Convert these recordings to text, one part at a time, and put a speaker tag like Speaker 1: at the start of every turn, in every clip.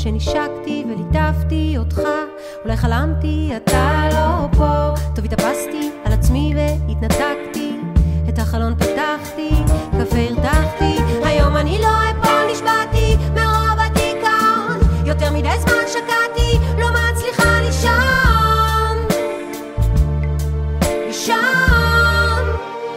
Speaker 1: שנשקתי וליטפתי אותך, אולי חלמתי אתה לא פה, טוב התאפסתי על עצמי והתנתקתי, את החלון פתחתי, קפה הרתחתי, היום אני לא אפול, נשבעתי מרוב הדיכאון, יותר מדי זמן שקעתי, לא מצליחה לישון, לישון.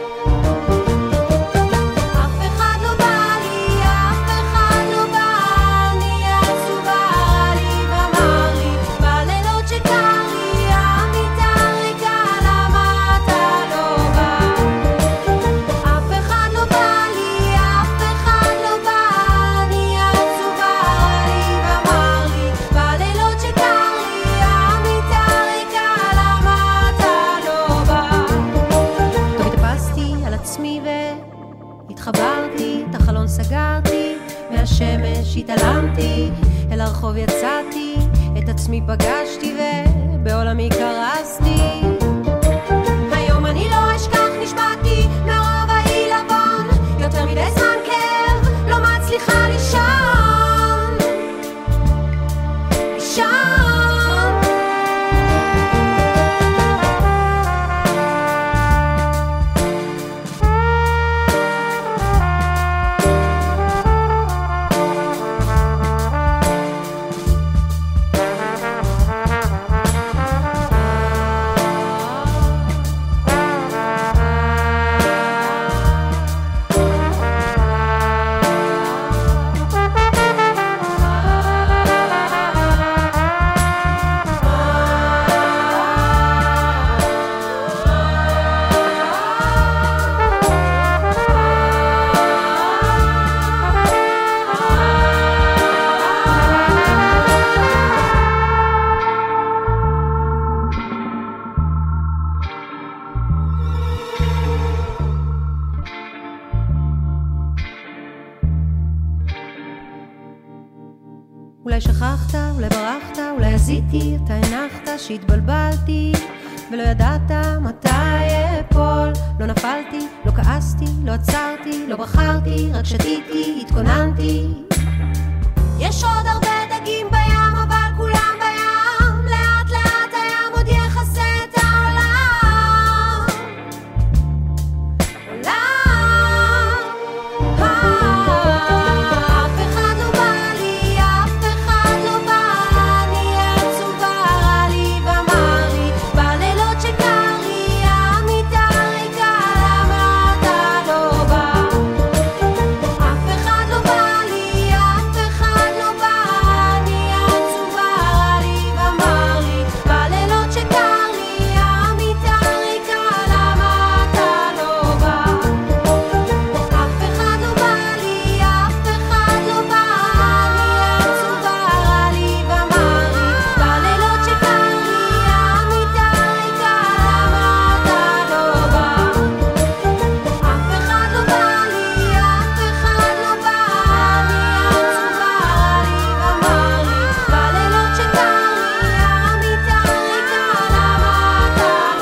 Speaker 1: אף אחד לא בא לי, אף אחד לא בא, אני עצובה לי ואמר לי בלילות שקר לי, המיטה ריקה, למה אתה לא בא? אף אחד לא בא לי, אף אחד לא בא, אני עצובה לי ואמר לי בלילות שקר לי, המיטה ריקה, למה אתה לא בא? טוב התאפסתי על עצמי והתחברתי, את החלון סגרתי, מהשמש התעלמתי, אל הרחוב יצאתי, את עצמי פגשתי ובעולמי קרסתי, היום אני לא אשכח, נשבעתי מרוב העילבון, יותר מדי זמן כאב, לא מצליחה לישון, לישון. אולי שכחת, אולי ברחת, אולי עשיתי, אתה הנחת שהתבלבלתי ולא ידעת מתי אפול, לא נפלתי, לא כעסתי, לא עצרתי, לא בחרתי, רק שתיתי, התכוננתי, יש עוד הרבה דגים בים אבל כולם בים, לאט לאט הים עוד יחסה את העולם, אף אחד לא בא לי, אף אחד לא בא, אני עצובה לי ואמר לי בלילות שקר לי, המיטה ריקה, למה אתה לא בא? אף אחד לא בא לי, אף אחד לא בא, אני עצובה לי ואמר לי בלילות שקר לי, המיטה ריקה, למה אתה לא בא? אף אחד לא בא לי, אף אחד לא בא, אני עצובה לי ואמר לי בלילות שקר לי, המיטה ריקה, למה אתה לא בא? אף אחד לא בא לי, אף אחד לא בא, אני עצובה לי ואמר לי בלילות שקר לי, המיטה ריקה, למה אתה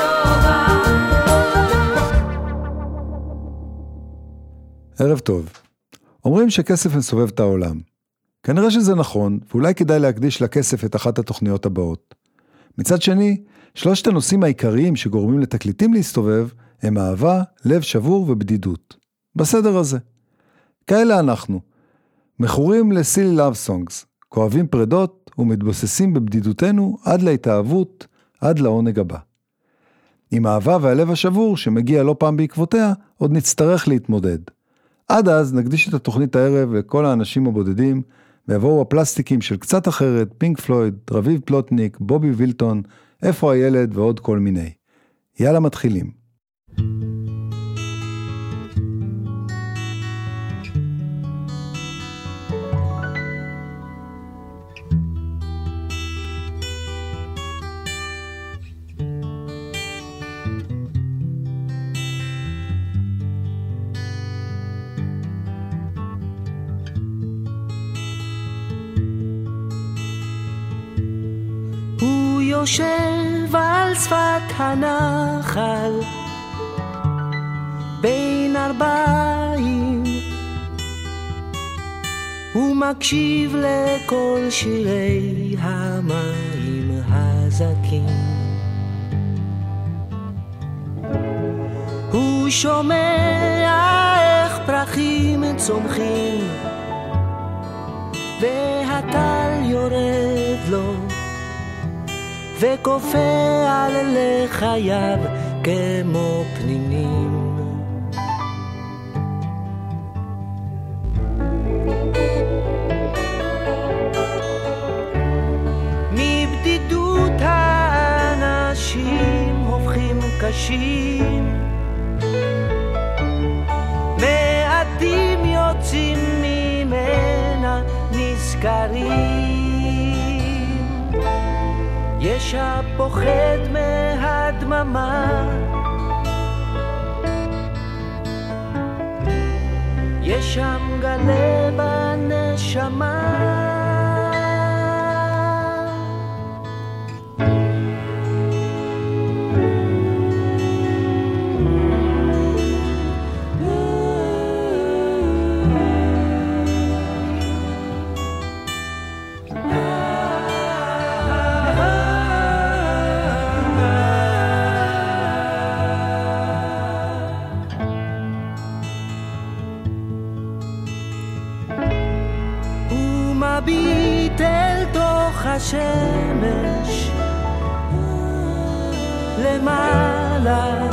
Speaker 1: לא בא?
Speaker 2: ערב טוב. אומרים שכסף מסובב את העולם. כנראה שזה נכון, ואולי כדאי להקדיש לכסף את אחת התוכניות הבאות. מצד שני, שלושת הנושאים העיקריים שגורמים לתקליטים להסתובב, הם אהבה, לב שבור ובדידות. בסדר הזה. כאלה אנחנו. מכורים לסילי לאב סונגס, כואבים פרדות ומתבוססים בבדידותנו עד להתאהבות, עד לעונג הבא. עם האהבה והלב השבור שמגיע לא פעם בעקבותיה, עוד נצטרך להתמודד. עד אז נקדיש את התוכנית הערב לכל האנשים הבודדים, ויבואו הפלסטיקים של קצת אחרת, פינק פלויד, רביב פלוטניק, בובי וילטון, איפה הילד ועוד כל מיני. יאללה מתחילים.
Speaker 3: יושב על שפת הנחל בין ארבעים, הוא מקשיב לכל שירי המים הזקים. הוא שומע איך פרחים צומחים והטל יורד לו וכופה על לחייו כמו פנינים. מבדידות האנשים הופכים קשים, מעטים יוצאים ממנה נזכרים. יש הפוחד מהדממה, יש שם גלה בנשמה. מביט אל תוך השמש למעלה,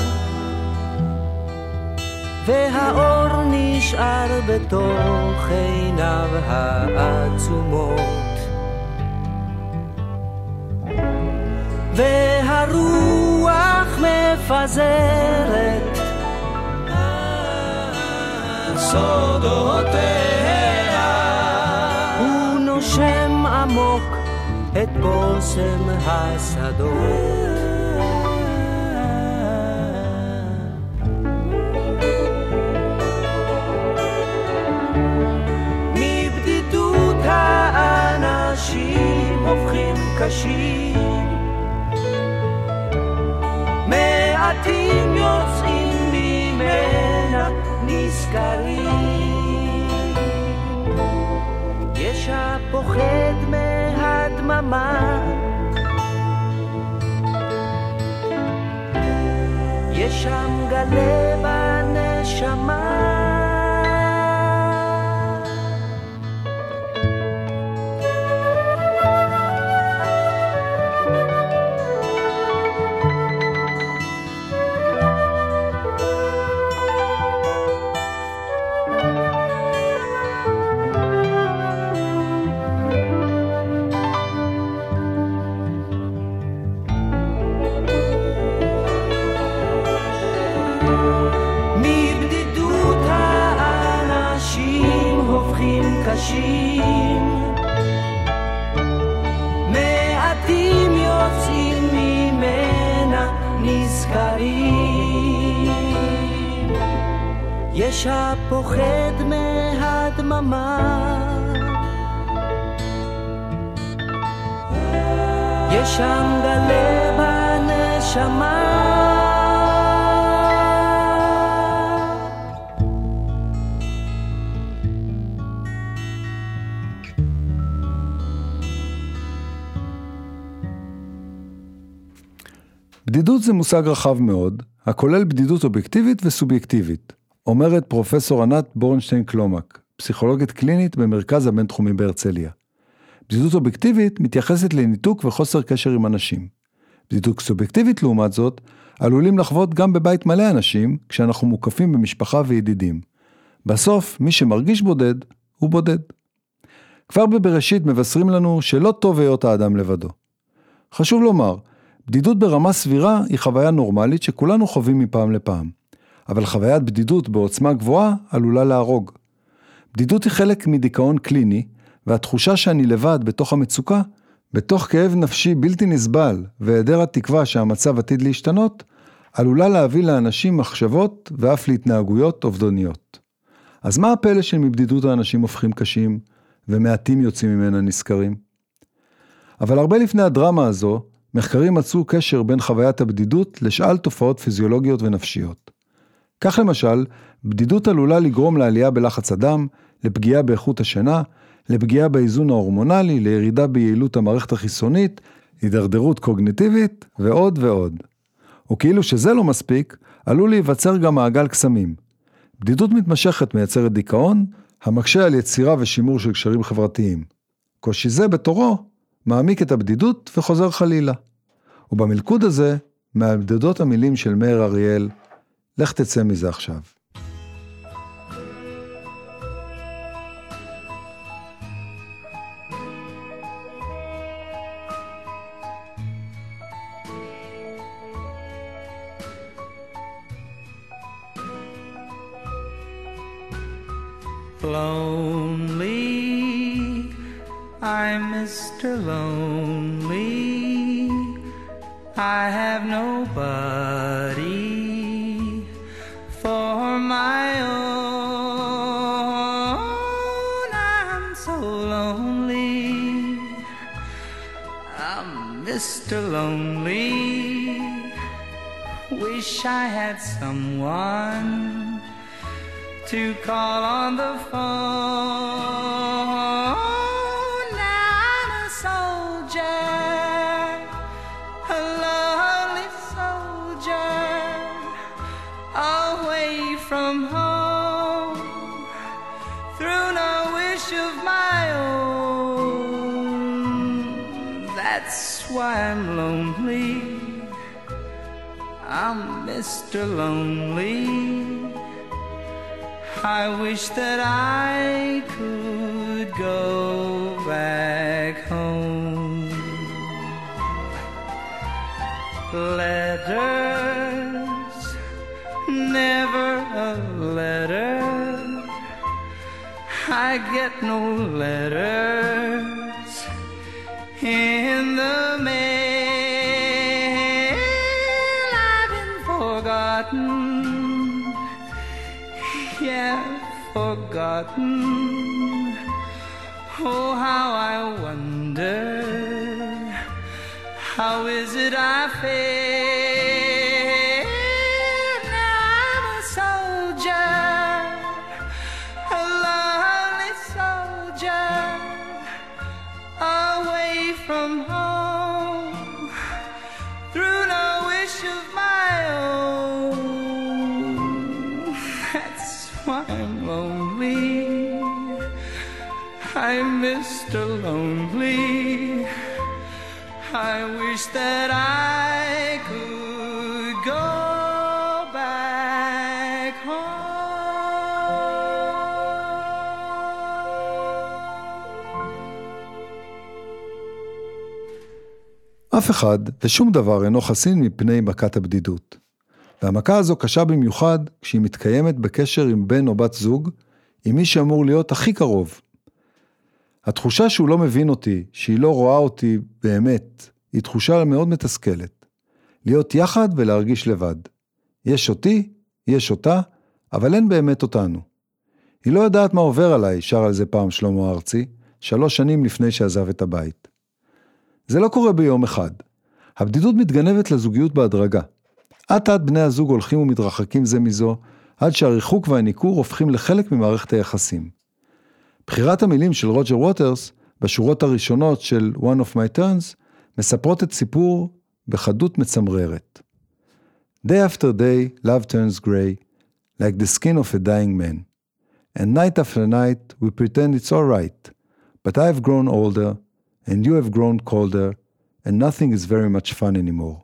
Speaker 3: והאור נשאר בתוך עיניו העצומות, והרוח מפזרת סודותיה. שם עמוק את בושם השדות, מבדידות האנשים הופכים קשים, מעטים יוצאים ממנה נזכרים. יש הפוחד מהדממה, יש שם גלה בנשמה. קשים, מעטים יוצאים ממנה נזכרים. יש הפוחד מהדממה, יש שם גלה בנשמה.
Speaker 2: בדידות זה מושג רחב מאוד, הכולל בדידות אובייקטיבית וסובייקטיבית, אומרת פרופסור ענת בורנשטיין קלומק, פסיכולוגית קלינית במרכז הבינתחומי בהרצליה. בדידות אובייקטיבית מתייחסת לניתוק וחוסר קשר עם אנשים. בדידות סובייקטיבית לעומת זאת, עלולים לחוות גם בבית מלא אנשים, כשאנחנו מוקפים במשפחה וידידים. בסוף, מי שמרגיש בודד, הוא בודד. כבר בבראשית מבשרים לנו שלא טוב היות האדם לבדו. חשוב לומר, בדידות ברמה סבירה היא חוויה נורמלית שכולנו חווים מפעם לפעם. אבל חוויית בדידות בעוצמה גבוהה עלולה להרוג. בדידות היא חלק מדיכאון קליני, והתחושה שאני לבד בתוך המצוקה, בתוך כאב נפשי בלתי נסבל והיעדר התקווה שהמצב עתיד להשתנות, עלולה להביא לאנשים מחשבות ואף להתנהגויות אובדניות. אז מה הפלא של מבדידות האנשים הופכים קשים ומעטים יוצאים ממנה נזכרים? אבל הרבה לפני הדרמה הזו, מחקרים מצאו קשר בין חוויית הבדידות לשאל תופעות פיזיולוגיות ונפשיות. כך למשל, בדידות עלולה לגרום לעלייה בלחץ הדם, לפגיעה באיכות השינה, לפגיעה באיזון ההורמונלי, לירידה ביעילות המערכת החיסונית, הידרדרות קוגניטיבית ועוד ועוד. וכאילו שזה לא מספיק, עלול להיווצר גם מעגל קסמים. בדידות מתמשכת מייצרת דיכאון, המקשה על יצירה ושימור של קשרים חברתיים. קושי זה בתורו מעמיק את הבדידות וחוזר חלילה. ובמלכוד הזה, מהבדידות המילים של מאיר אריאל, לך תצא מזה עכשיו.
Speaker 3: Lonely, I'm Mr. Lonely, I have nobody for my own. I'm so lonely, I'm Mr. Lonely, wish I had someone to call on the phone. Now I'm a soldier, a lonely soldier, away from home, through no wish of my own. That's why I'm lonely, I'm Mr. Lonely. I wish that I could go back home. Letters, never a letter, I get no letters in the mail. I've been forgotten, yeah, forgotten. Oh, how I wonder, how is it I fail? Now I'm a soldier, a lonely soldier, away from home, through no wish of my own. That's why I'm lonely, I'm Mr. Lonely. I wish that I could go back home.
Speaker 2: אף אחד ושום דבר אינו חסין מפני מכת הבדידות. והמכה הזו קשה במיוחד כשהיא מתקיימת בקשר עם בן או בת זוג, עם מי שאמור להיות הכי קרוב. התחושה שהוא לא מבין אותי, שהיא לא רואה אותי באמת, היא תחושה מאוד מתסכלת. להיות יחד ולהרגיש לבד. יש אותי, יש אותה, אבל אין באמת אותנו. היא לא יודעת מה עובר עליי, שר על זה פעם שלמה ארצי, 3 שנים לפני שעזב את הבית. זה לא קורה ביום אחד. הבדידות מתגנבת לזוגיות בהדרגה. עד בני הזוג הולכים ומתרחקים זה מזו, עד שהריחוק והניקור הופכים לחלק ממערכת היחסים. בחירת המילים של רוג'ר ווטרס, בשורות הראשונות של One of My Turns, מספרות את סיפור בחדות מצמררת. Day after day, love turns gray, like the skin of a dying man. And night after night, we pretend it's all right, but I've grown older, and you have grown colder, and nothing is very much fun anymore.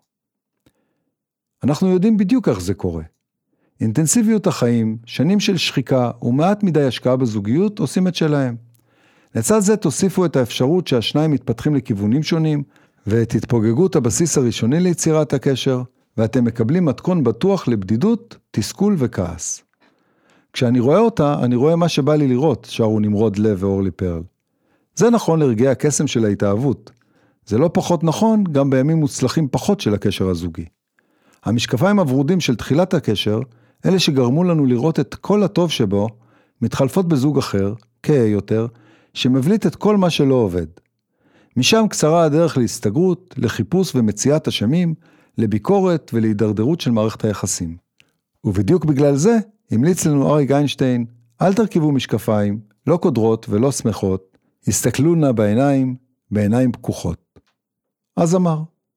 Speaker 2: אנחנו יודעים בדיוק איך זה קורה. אינטנסיביות החיים, שנים של שחיקה ומעט מדי השקעה בזוגיות עושים את שלהם. לצד זה תוסיפו את האפשרות שהשניים מתפתחים לכיוונים שונים, ואת התפוגגות הבסיס הראשוני ליצירת הקשר, ואתם מקבלים מתכון בטוח לבדידות, תסכול וכעס. כשאני רואה אותה, אני רואה מה שבא לי לראות, שרו נמרוד לב ואורלי פרל. זה נכון לרגעי הקסם של ההתאהבות. זה לא פחות נכון גם בימים מוצלחים פחות של הקשר הזוגי. המשקפיים הוורודים של תחילת הקשר, אלה שגרמו לנו לראות את כל הטוב שבו, מתחלפות בזוג אחר, כהה יותר, שמבליט את כל מה שלא עובד. משם קצרה הדרך להסתגרות, לחיפוש ומציאת אשמים, לביקורת ולהידרדרות של מערכת היחסים. ובדיוק בגלל זה, המליץ לנו אריק איינשטיין, אל תרכיבו משקפיים, לא קודרות ולא שמחות, הסתכלו נא בעיניים פקוחות. אז אמר.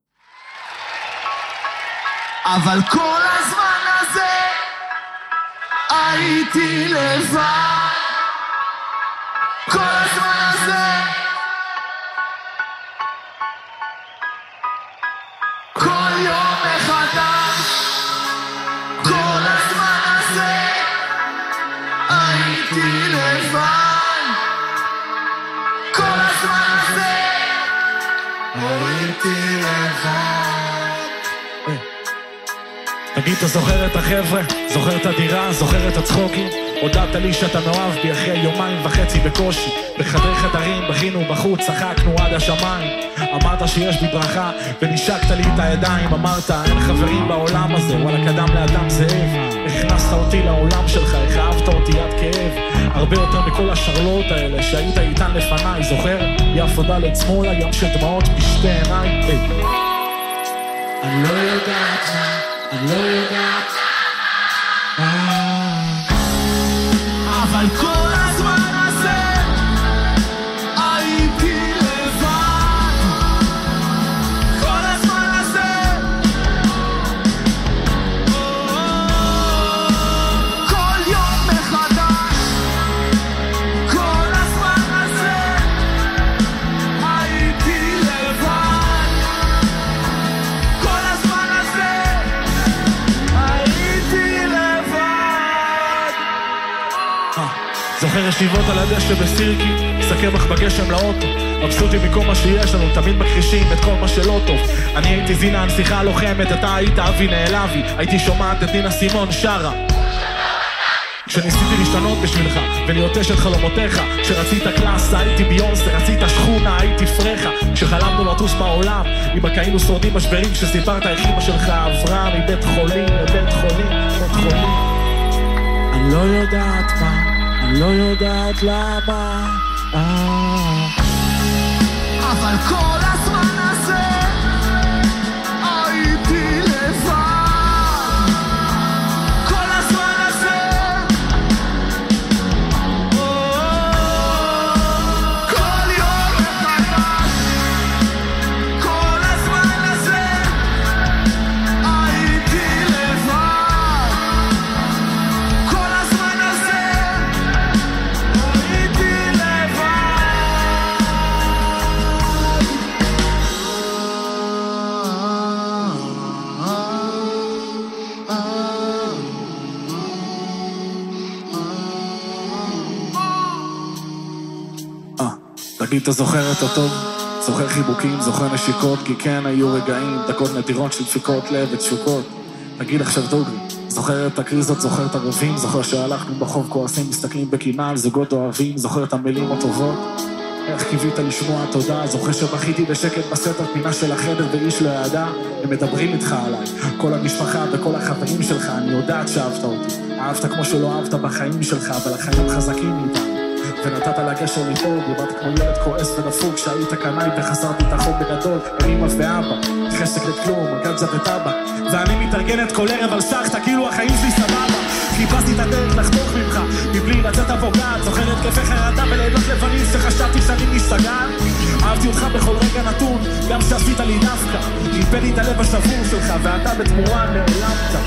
Speaker 4: אבל כל הזמן הזה הייתי לבד, כל הזמן הזה, כל יום מחדש, כל הזמן הזה הייתי לבד, כל הזמן הזה הייתי לבד.
Speaker 5: תגיד, אתה זוכר את החבר'ה? זוכר את הדירה? זוכר את הצחוקים? הודעת לי שאתה מאוהב בי אחרי 2.5 ימים בקושי. בחדרי חדרים, בכינו בחוץ, צחקנו עד השמיים. אמרת שיש בי ברכה, ונשקת לי את הידיים. אמרת, אין חברים בעולם הזה, וואלה קדם לאדם זאב. הכנסת אותי לעולם שלך, איך אהבת אותי עד כאב. הרבה יותר מכל השרלות האלה שהיית איתן לפניי. זוכר? יפו ד' שמאלה, ים של דמעות בשתי עיניי. אני לא יודעת מה, אני לא יודעת
Speaker 4: אבל כל הזמן הזה הייתי לבד, כל הזמן הזה, כל יום מחדש, כל הזמן הזה הייתי לבד, כל הזמן הזה הייתי לבד.
Speaker 5: זוכר ישיבות על הדשא בסירקי, מסתכל בך בגשם לאוטו, מבסוטים מכל מה שיש לנו, תמיד מכחישים את כל מה שלא טוב. אני הייתי זינה הנסיכה הלוחמת, אתה היית אבי נעלבי, הייתי שומעת את נינה סימון שרה כשניסיתי להשתנות בשבילך ולהיות אשת חלומותיך. כשרצית קלאסה הייתי ביונסה, רצית שכונה הייתי פרחה. כשחלמנו לטוס בעולם עם הכאילו שורדים משברים, כשסיפרת איך אמא שלך עברה מבית חולים לבית חולים, בית חולים. אני לא יודעת מה, אני לא יודעת למה,
Speaker 4: אבל כל הזמן הזה הייתי לבד, כל הזמן הזה, כל יום מחדש, כל הזמן הזה הייתי לבד, כל הזמן הזה הייתי לבד.
Speaker 5: תגיד, אתה זוכר את הטוב? זוכר חיבוקים, זוכר נשיקות, כי כן היו רגעים, דקות נדירות של דפיקות לב ותשוקות. תגיד עכשיו דוגרי, זוכר את הקריזות, זוכר את הרבים, זוכר שהלכנו בחוב כועסים, מסתכלים בקינה על זוגות אוהבים, זוכר את המילים הטובות, איך קיווית לשמוע תודה, זוכר שבכיתי בשקט בסתר פינה של החדר ואיש לא ידע, הם מדברים איתך עליי, כל המשפחה וכל החברים שלך, אני יודעת שאהבת אותי, אהבת כמו שלא אהבת בחיים שלך, אבל החיים חזקים איתם. ונתת לגשר לדאוג, דיברת כמו ילד כועס ונפוג, שהיית קנאי וחסרתי את החוק בגדול, אמא ואבא, חשק לכלום, גלג'ה וטבק, ואני מתארגנת כל ערב על סחטה, כאילו החיים שלי סבבה. חיפשתי את הדרך לחתוך ממך, מבלי לצאת אבוגד, זוכר התקפי חרדה בלילות לבנים שחשבתי שאני מסתגר. אהבתי אותך בכל רגע נתון, גם שעשית לי דווקא, ריפא לי את הלב השבור שלך, ואתה בתמורה נעלמת.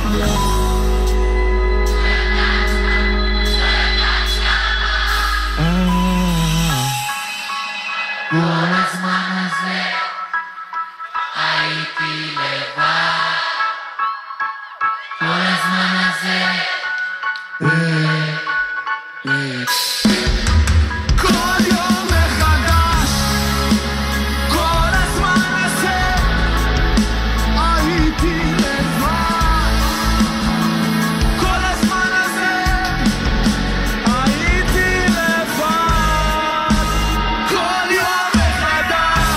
Speaker 4: כל הזמן הזה הייתי לבד, כל הזמן הזה כל יום מחדש, כל הזמן הזה הייתי לבד, כל הזמן הזה הייתי לבד, כל יום מחדש.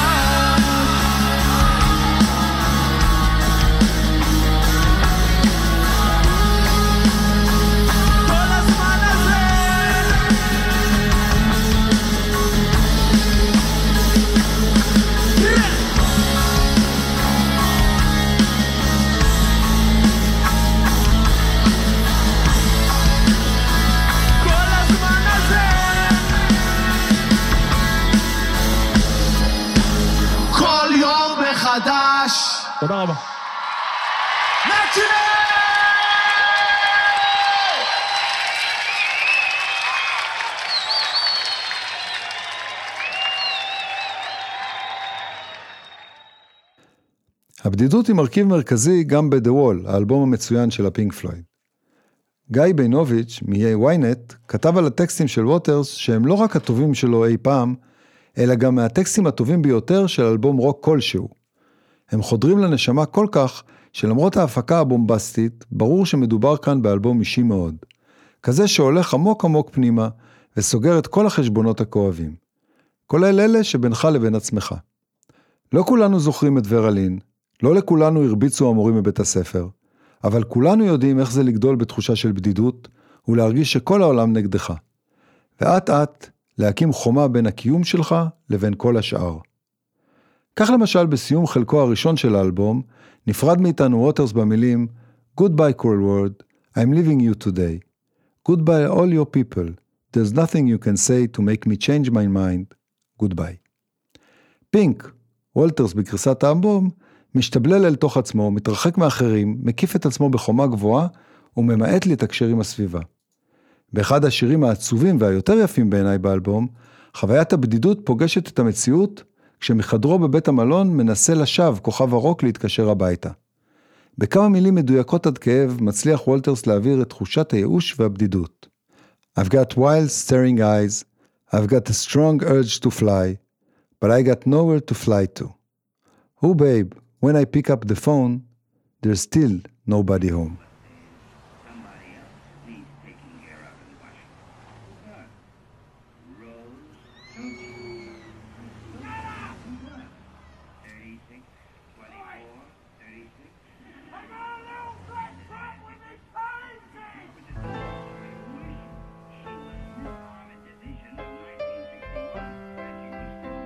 Speaker 6: תודה רבה.
Speaker 2: הבדידות היא מרכיב מרכזי גם ב-The Wall, האלבום המצוין של הפינק פלויד. גיא בינוביץ' מ-ynet כתב על הטקסטים של ווטרס שהם לא רק הטובים שלו אי פעם, אלא גם מהטקסטים הטובים ביותר של אלבום רוק כלשהו. הם חודרים לנשמה כל כך שלמרות ההפקה הבומבסטית, ברור שמדובר כאן באלבום אישי מאוד. כזה שהולך עמוק עמוק פנימה וסוגר את כל החשבונות הכואבים. כולל אלה שבינך לבין עצמך. לא כולנו זוכרים את ורלין, לא לכולנו הרביצו המורים בבית הספר, אבל כולנו יודעים איך זה לגדול בתחושה של בדידות, ולהרגיש שכל העולם נגדך. ואת להקים חומה בין הקיום שלך לבין כל השאר. כך למשל בסיום חלקו הראשון של האלבום, נפרד מאיתנו ווטרס במילים Goodbye cruel world, I'm leaving you today. Goodbye all your people, there's nothing you can say to make me change my mind. Goodbye. פינק, וולטרס בגרסת האלבום, משתבלל אל תוך עצמו, מתרחק מאחרים, מקיף את עצמו בחומה גבוהה, וממעט להתקשר עם הסביבה. באחד השירים העצובים והיותר יפים בעיניי באלבום, חוויית הבדידות פוגשת את המציאות, כשמחדרו בבית המלון מנסה לשווא כוכב הרוק להתקשר הביתה. בכמה מילים מדויקות עד כאב, מצליח וולטרס להעביר את תחושת הייאוש והבדידות. I've got wild staring eyes, I've got a strong urge to fly, but I got nowhere to fly to. Oh babe, when I pick up the phone, there's still nobody home.
Speaker 7: Somebody else needs taking care of in Washington. Rose, 36, 24, 36.
Speaker 4: I got a little black truck with me crazy!
Speaker 7: She was on a division of 1961, and she was still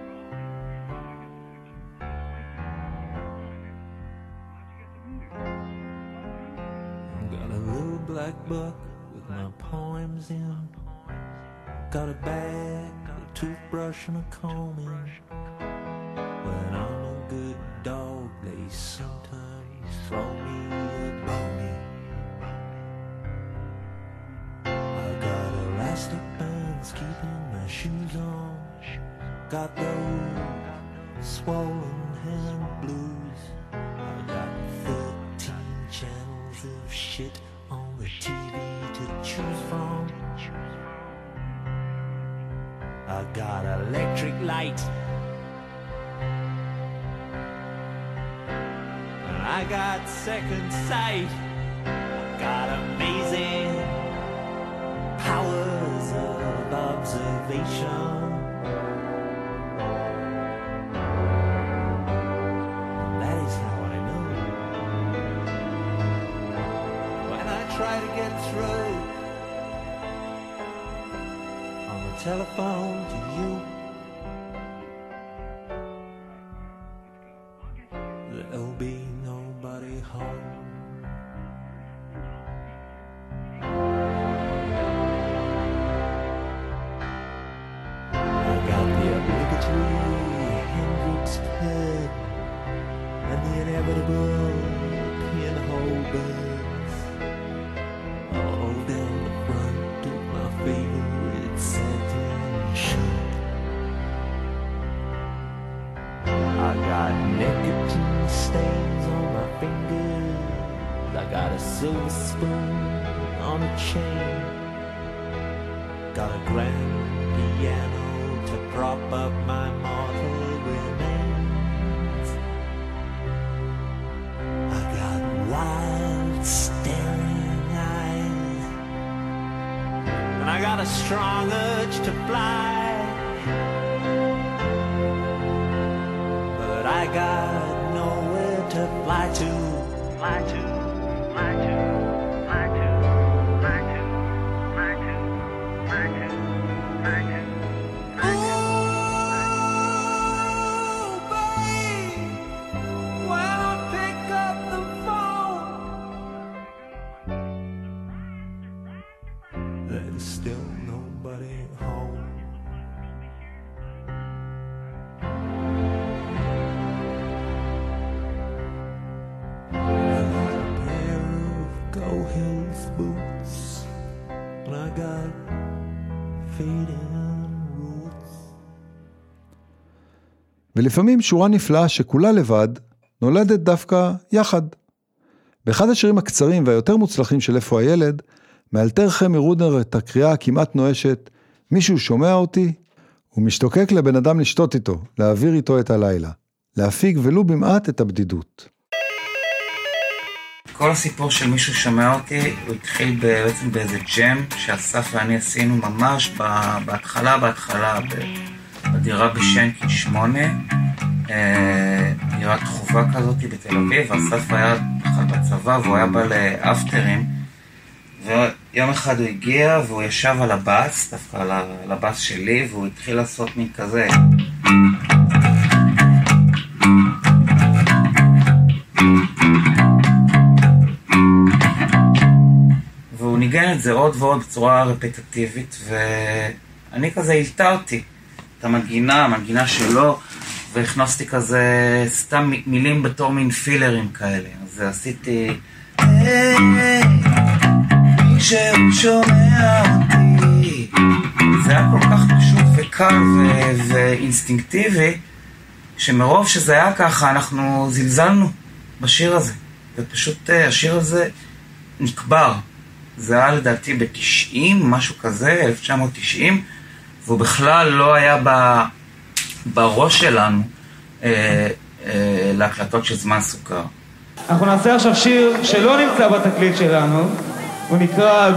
Speaker 8: Got a little black book with my poems in. Got a bag, a toothbrush and a comb in. When I'm a good dog, they sometimes throw me a bone. I got elastic bands keeping my shoes on. Got those swollen hand blues. I got 13 channels of shit on the TV to choose from. I got electric light. I got second sight. I got amazing powers of observation. That is how I know. When I try to get through on the telephone to you, there'll be nobody home. I got the obligatory Hendrix pen and the inevitable pinhole buds all down the front of my favorite satin shirt. I got nicotine stains on my fingers. I got a silver spoon on a chain. Got a grand piano to prop up my mortal remains. I got wild staring eyes, and I got a strong urge to fly. But I got nowhere to fly to, fly to, fly to, fly to, fly to, fly to, fly to, fly to.
Speaker 4: Ooh, babe, when I pick up the phone,
Speaker 8: There's still nobody home. no health boots, and I got fading roots.
Speaker 2: ולפעמים שורה נפלאה שכולה לבד, נולדת דווקא יחד. באחד השירים הקצרים והיותר מוצלחים של איפה הילד, מאלתר חמי רודנר את הקריאה הכמעט נואשת, מישהו שומע אותי, הוא משתוקק לבן אדם לשתות איתו, להעביר איתו את הלילה, להפיג ולו במעט את הבדידות.
Speaker 6: כל הסיפור של מישהו שומע אותי, הוא התחיל בעצם באיזה ג'ם שאסף ואני עשינו ממש בהתחלה, בדירה בשנקין 8, דירת חובה כזאת בתל אביב, אסף היה בצבא והוא היה בא לאפטרים, ויום אחד הוא הגיע והוא ישב על הבאס, דווקא על הבאס שלי, והוא התחיל לעשות מין כזה. והוא ניגן את זה עוד ועוד בצורה רפטטיבית, ואני כזה הלתרתי את המנגינה שלו, והכנסתי כזה סתם מילים בתור מין פילרים כאלה. אז עשיתי מישהו שומע אותי. זה היה כל כך פשוט וקל ואינסטינקטיבי, שמרוב שזה היה ככה אנחנו זלזלנו בשיר הזה, ופשוט השיר הזה נקבר. זה היה לדעתי ב-90, משהו כזה, 1990, והוא בכלל לא היה בראש שלנו להקלטות של זמן סוכר.
Speaker 9: אנחנו נעשה עכשיו שיר שלא נמצא בתקליט שלנו, הוא נקרא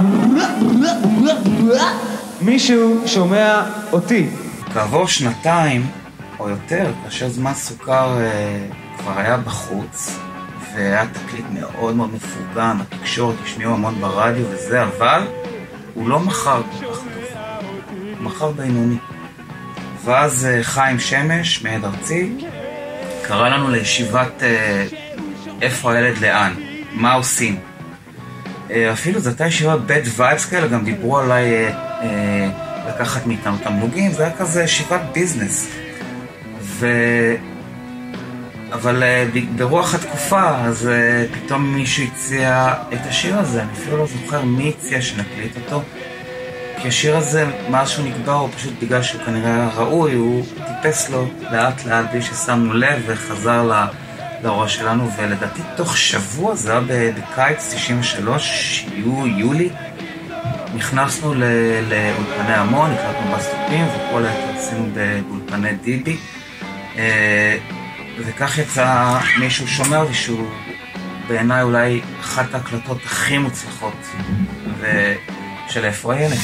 Speaker 9: מישהו שומע אותי.
Speaker 6: כעבור שנתיים או יותר, כאשר זמן סוכר כבר היה בחוץ, והיה תקליט מאוד מאוד מפורגם, התקשורת השמיעו המון ברדיו וזה, אבל הוא לא מכר כל כך טוב, הוא מכר בינוני. ואז חיים שמש, מעד ארצי, קרא לנו לישיבת איפה הילד לאן, מה עושים. אפילו זו הייתה ישיבה bad vibes כאלה, גם דיברו עליי לקחת מאיתנו תמלוגים, זה היה כזה ישיבת ביזנס. אבל ברוח התקופה, אז פתאום מישהו הציע את השיר הזה, אני אפילו לא זוכר מי הציע שנקליט אותו, כי השיר הזה, מאז שהוא נקבע, הוא פשוט בגלל שהוא כנראה ראוי, הוא טיפס לו לאט לאט בלי ששמנו לב וחזר לראש שלנו, ולדעתי תוך שבוע, זה היה בקיץ 93, יולי, נכנסנו לאולפני המון, הקלטנו בסטופים, וכל היתר עשינו באולפני דיבי, וכך יצא מישהו שומע אותי שהוא בעיניי אולי אחת ההקלטות הכי מוצלחות של איפה הילד.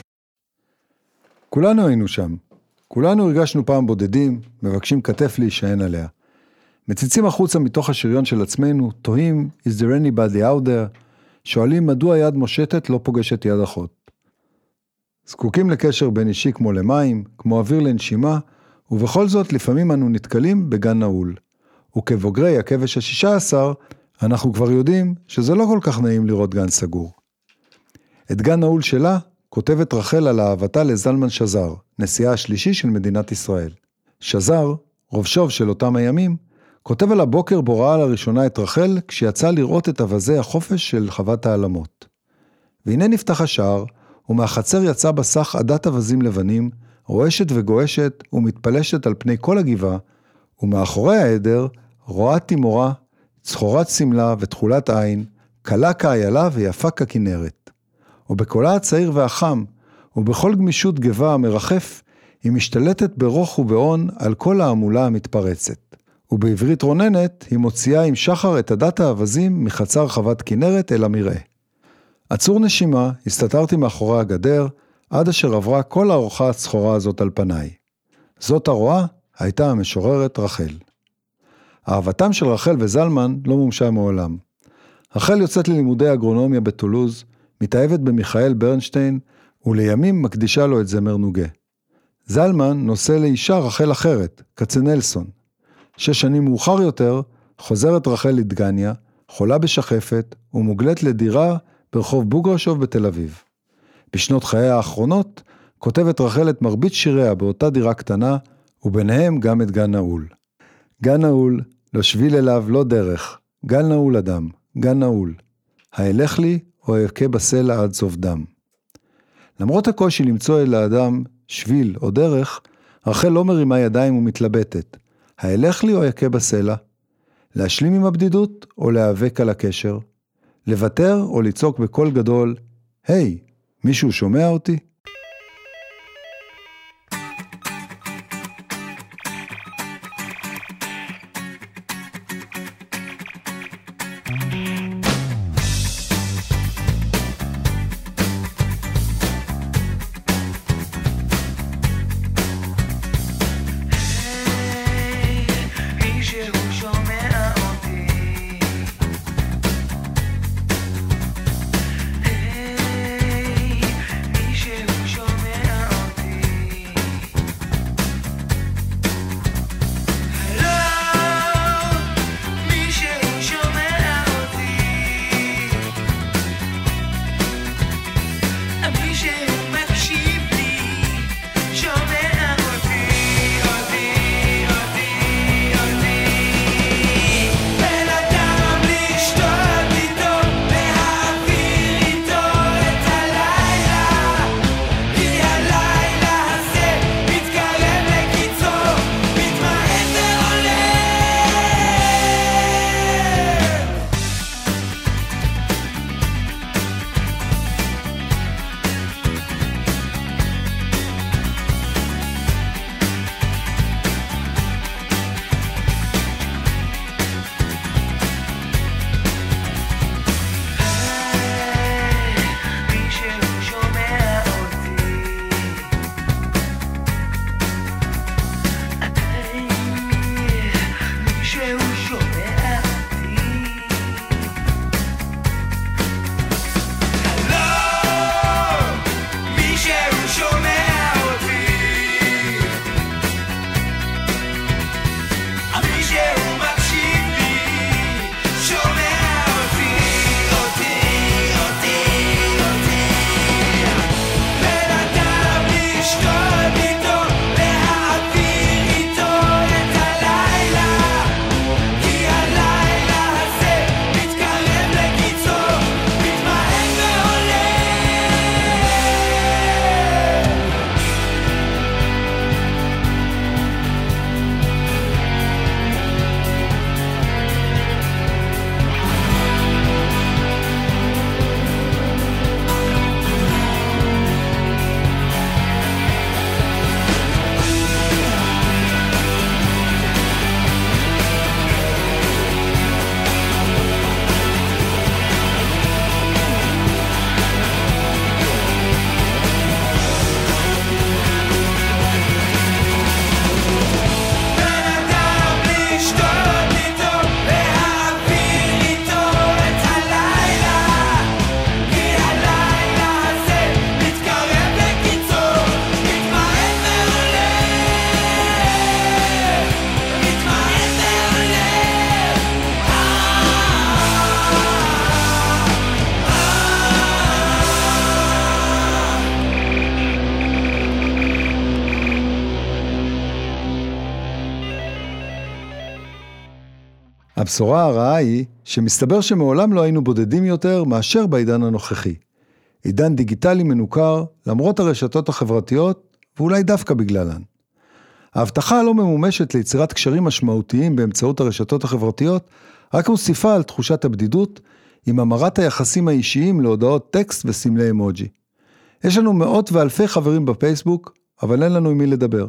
Speaker 2: כולנו היינו שם. כולנו הרגשנו פעם בודדים, מבקשים כתף להישען עליה. מציצים החוצה מתוך השריון של עצמנו, תוהים, is there anybody out there? שואלים מדוע יד מושטת לא פוגשת יד אחות. זקוקים לקשר בין אישי כמו למים, כמו אוויר לנשימה, ובכל זאת לפעמים אנו נתקלים בגן נעול. וכבוגרי הכבש ה-16, אנחנו כבר יודעים שזה לא כל כך נעים לראות גן סגור. את גן נעול שלה כותבת רחל על אהבתה לזלמן שזר, נשיאה השלישי של מדינת ישראל. שזר, רובשוב של אותם הימים, כותב על הבוקר בו ראה לראשונה את רחל כשיצא לראות את אבזי החופש של חוות העלמות. והנה נפתח השער, ומהחצר יצא בסך עדת אבזים לבנים, רועשת וגועשת ומתפלשת על פני כל הגבעה, ומאחורי העדר רואה תימורה, צחורת סמלה ותחולת עין, קלה כאיילה ויפה ככנרת. ובקולה הצעיר והחם, ובכל גמישות גבה המרחף, היא משתלטת ברוך ובעון על כל העמולה המתפרצת. ובעברית רוננת היא מוציאה עם שחר את עדת האבזים מחצר חוות כנרת אל המראה. עצור נשימה, הסתתרתי מאחורי הגדר, עד אשר עברה כל הארוחה הצחורה הזאת על פניי. זאת הרואה הייתה המשוררת רחל. אהבתם של רחל וזלמן לא מומשה מעולם. רחל יוצאת ללימודי אגרונומיה בטולוז, מתאהבת במיכאל ברנשטיין, ולימים מקדישה לו את זמר נוגה. זלמן נושא לאישה רחל אחרת, כצנלסון. 6 שנים מאוחר יותר, חוזרת רחל לדגניה, חולה בשחפת, ומוגלת לדירה ברחוב בוגרשוב בתל אביב. בשנות חיי האחרונות, כותבת רחל את מרבית שיריה באותה דירה קטנה, וביניהם גם את גן נעול. גן נעול, לא שביל אליו, לא דרך. גן נעול אדם, גן נעול. האלך לי או אבכה בסלע עד סוף דם. למרות הקושי למצוא אל האדם שביל או דרך, רחל לא מרימה ידיים ומתלבטת. האלך לי או אבכה בסלע? להשלים עם הבדידות או להיאבק על הקשר? לוותר או לצעוק בקול גדול, היי, מישהו שומע אותי? הבשורה הרעה היא שמסתבר שמעולם לא היינו בודדים יותר מאשר בעידן הנוכחי. עידן דיגיטלי מנוכר למרות הרשתות החברתיות ואולי דווקא בגללן. ההבטחה הלא ממומשת ליצירת קשרים משמעותיים באמצעות הרשתות החברתיות רק מוסיפה על תחושת הבדידות עם המרת היחסים האישיים להודעות טקסט וסמלי אמוג'י. יש לנו מאות ואלפי חברים בפייסבוק, אבל אין לנו עם מי לדבר.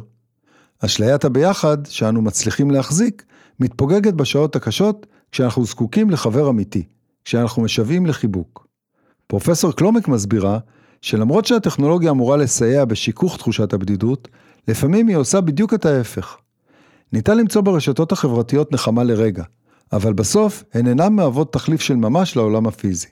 Speaker 2: אשליית הביחד שאנו מצליחים להחזיק מתפוגגת בשעות הקשות כשאנחנו זקוקים לחבר אמיתי, כשאנחנו משוועים לחיבוק. פרופסור קלומק מסבירה שלמרות שהטכנולוגיה אמורה לסייע בשיקוך תחושת הבדידות, לפעמים היא עושה בדיוק את ההפך. ניתן למצוא ברשתות החברתיות נחמה לרגע, אבל בסוף הן אינן מהוות תחליף של ממש לעולם הפיזי.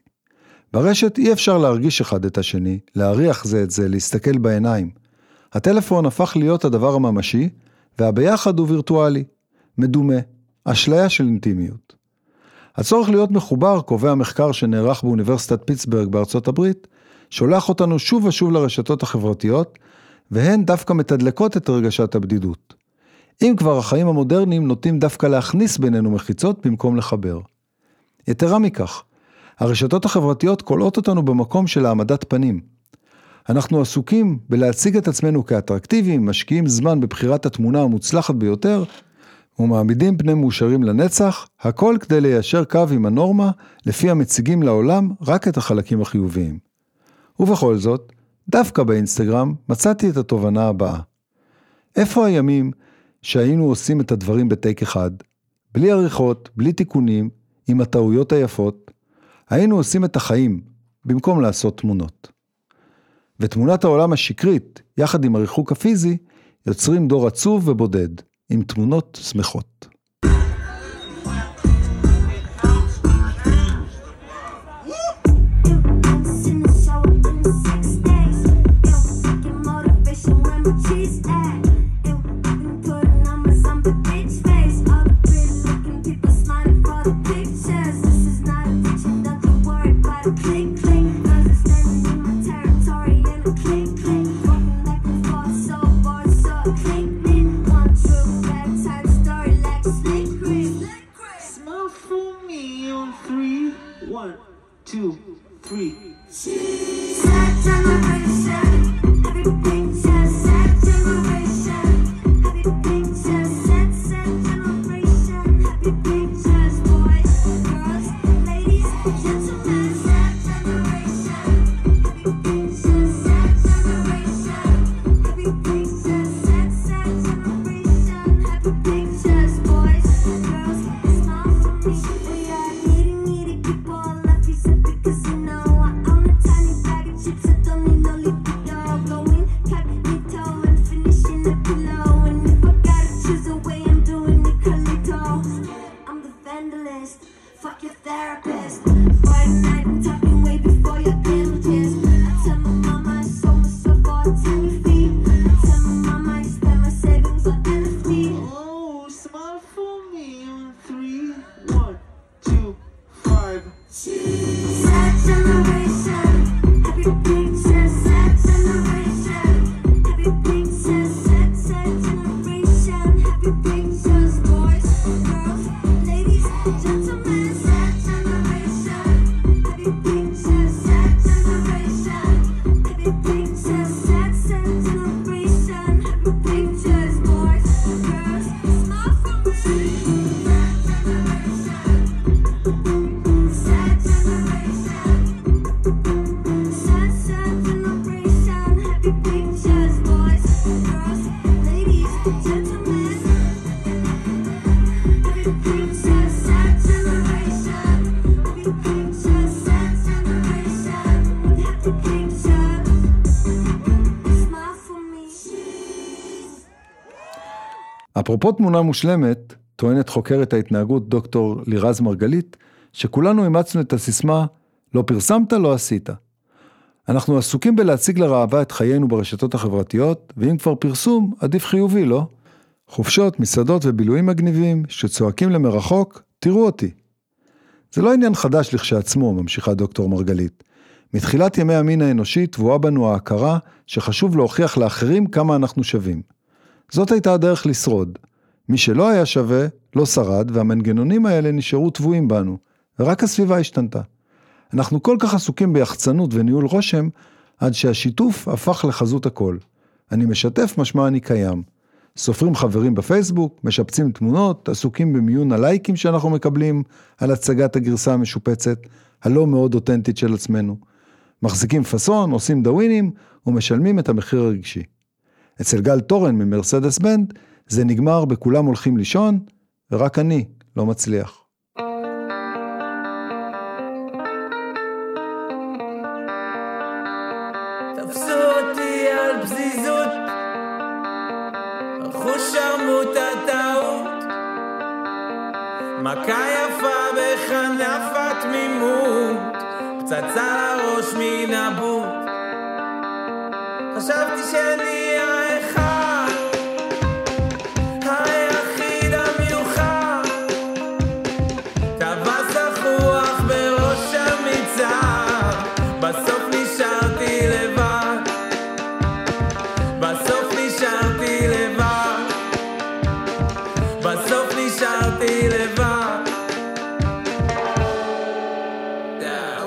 Speaker 2: ברשת אי אפשר להרגיש אחד את השני, להריח זה את זה, להסתכל בעיניים. הטלפון הפך להיות הדבר הממשי, והביחד הוא וירטואלי, מדומה, אשליה של אינטימיות. הצורך להיות מחובר, קובע מחקר שנערך באוניברסיטת פיטסברג בארצות הברית, שולח אותנו שוב ושוב לרשתות החברתיות, והן דווקא מתדלקות את הרגשת הבדידות. אם כבר החיים המודרניים נוטים דווקא להכניס בינינו מחיצות במקום לחבר. יתרה מכך, הרשתות החברתיות קולעות אותנו במקום של העמדת פנים. אנחנו עסוקים בלהציג את עצמנו כאטרקטיביים, משקיעים זמן בבחירת התמונה המוצלחת ביותר, ומעמידים פני מאושרים לנצח, הכל כדי ליישר קו עם הנורמה, לפי המציגים לעולם רק את החלקים החיוביים. ובכל זאת, דווקא באינסטגרם מצאתי את התובנה הבאה. איפה הימים שהיינו עושים את הדברים בטייק אחד, בלי עריכות, בלי תיקונים, עם הטעויות היפות, היינו עושים את החיים, במקום לעשות תמונות. ותמונת העולם השקרית, יחד עם הריחוק הפיזי, יוצרים דור עצוב ובודד, עם תמונות שמחות. אפרופו תמונה מושלמת, טוענת חוקרת ההתנהגות דוקטור לירז מרגלית, שכולנו אימצנו את הסיסמה, לא פרסמת, לא עשית. אנחנו עסוקים בלהציג לראווה את חיינו ברשתות החברתיות, ואם כבר פרסום, עדיף חיובי, לא? חופשות, מסעדות ובילויים מגניבים, שצועקים למרחוק, תראו אותי. זה לא עניין חדש לכשעצמו, ממשיכה דוקטור מרגלית. מתחילת ימי המין האנושי תבואה בנו ההכרה, שחשוב להוכיח לאחרים כמה אנחנו שווים. זאת הייתה הדרך לשרוד. מי שלא היה שווה, לא שרד, והמנגנונים האלה נשארו טבועים בנו, ורק הסביבה השתנתה. אנחנו כל כך עסוקים ביחצנות וניהול רושם, עד שהשיתוף הפך לחזות הכל. אני משתף משמע אני קיים. סופרים חברים בפייסבוק, משפצים תמונות, עסוקים במיון הלייקים שאנחנו מקבלים, על הצגת הגרסה המשופצת, הלא מאוד אותנטית של עצמנו. מחזיקים פסון, עושים דווינים, ומשלמים את המחיר הרגשי. אצל גל טורן ממרסדס בנד, זה נגמר בכולם הולכים לישון, ורק אני לא מצליח.
Speaker 10: תפסו אותי על פזיזות, אחו שרמות הטעות, מכה יפה בחנפת תמימות, פצצה לראש מן הבוט. חשבתי שאני האחד, היחיד המיוחד, טבס החוח בראש המצער, בסוף נשארתי לבד, בסוף נשארתי לבד, בסוף נשארתי לבד.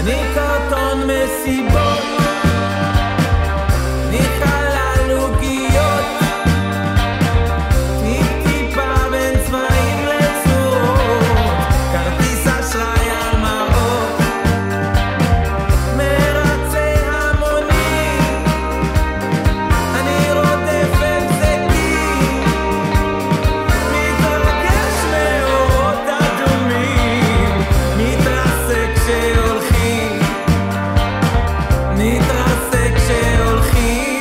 Speaker 10: מקרטון מסיבות, מחלל עוגיות, טיפ-טיפה בין צבעים לצורות, כרטיס אשראי על מראות, מרצה המונים, אני רודף הבזקים, מתרגש מאורות אדומים, מתרסק כשהולכים, מתרסק כשהולכים,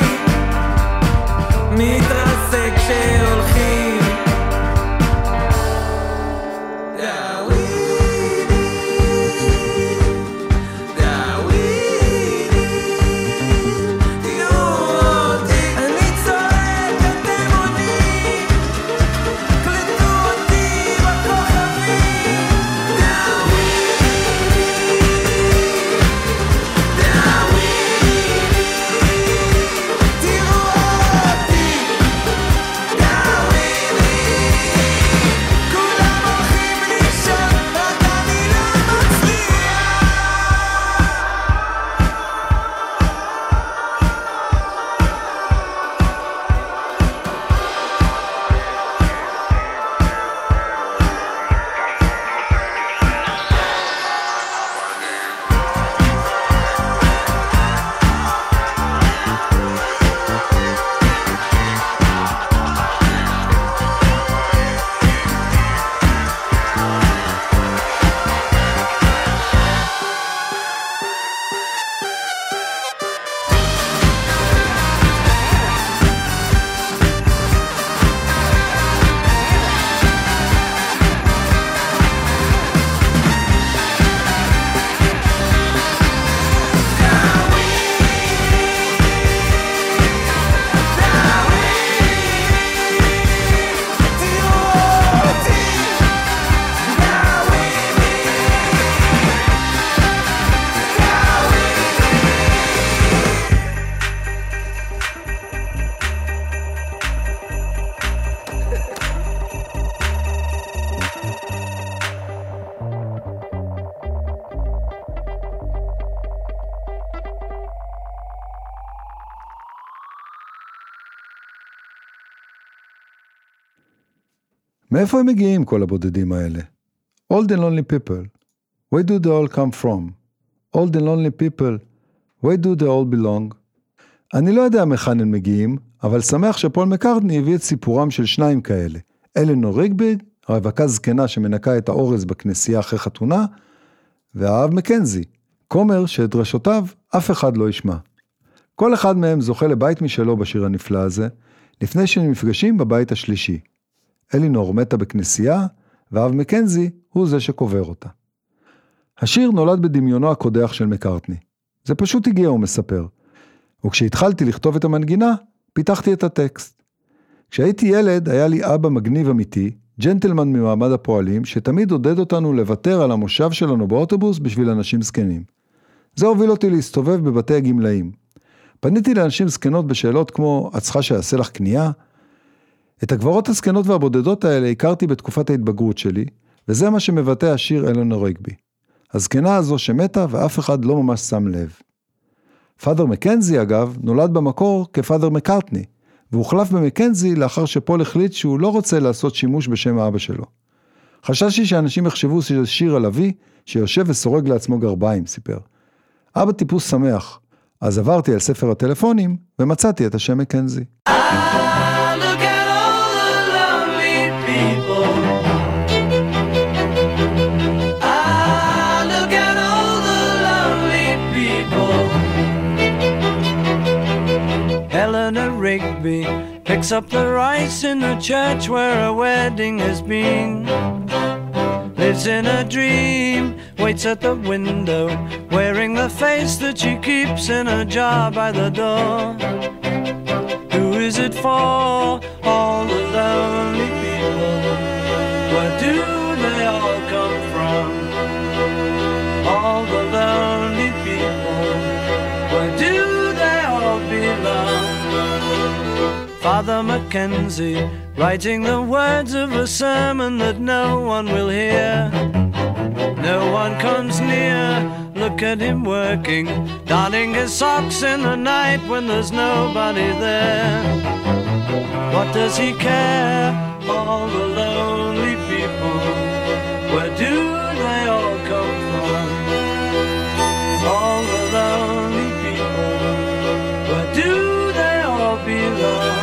Speaker 10: מתרסק כשהולכים. דאווידי, דאווידי, תראו אותי, אני צועק אתם עונים, קלטו אותי בכוכבים. דאווידי, דאווידי, תראו אותי, דאווידי, כולם הולכים לישון, רק אני לא מצליח.
Speaker 2: מאיפה הם מגיעים כל הבודדים האלה? All the lonely people, where do they all come from? All the lonely people, where do they all belong? אני לא יודע מכאן הם מגיעים, אבל שמח שפול מקארטני הביא את סיפורם של שניים כאלה. אלינור ריגבי, הרווקה זקנה שמנקה את האורז בכנסייה אחרי חתונה, והאב מקנזי, כומר שאת דרשותיו אף אחד לא ישמע. כל אחד מהם זוכה לבית משלו בשיר הנפלא הזה, לפני שהם נפגשים בבית השלישי. אלינור מתה בכנסייה, והאב מקנזי הוא זה שקובר אותה. השיר נולד בדמיונו הקודח של מקארטני. זה פשוט הגיע, הוא מספר. וכשהתחלתי לכתוב את המנגינה, פיתחתי את הטקסט. כשהייתי ילד, היה לי אבא מגניב אמיתי, ג'נטלמן ממעמד הפועלים, שתמיד עודד אותנו לוותר על המושב שלנו באוטובוס בשביל אנשים זקנים. זה הוביל אותי להסתובב בבתי הגמלאים. פניתי לאנשים זקנות בשאלות כמו, את צריכה שיעשה לך קנייה? את הגברות הזקנות והבודדות האלה הכרתי בתקופת ההתבגרות שלי, וזה מה שמבטא השיר אלינור ריגבי. הזקנה הזו שמתה ואף אחד לא ממש שם לב. פאדר מקנזי אגב נולד במקור כפאדר מקארטני, והוחלף במקנזי לאחר שפול החליט שהוא לא רוצה לעשות שימוש בשם האבא שלו. חששתי שאנשים יחשבו שזה שיר על אבי שיושב וסורג לעצמו גרביים, סיפר. אבא טיפוס שמח, אז עברתי על ספר הטלפונים ומצאתי את השם מקנזי.
Speaker 10: Look at all the lonely people. Look at all the lonely people. Eleanor Rigby picks up the rice in the church where a wedding has been. Lives in a dream, waits at the window, wearing the face that she keeps in a jar by the door. Who is it for? All the lonely people. Where do they all come from? All the lonely people. Where do they all belong? Father Mackenzie, writing the words of a sermon that no one will hear. No one comes near, look at him working, darning his socks in the night when there's nobody there. What does he care? All the lonely people, where do they all come from? All the lonely people, where do they all belong?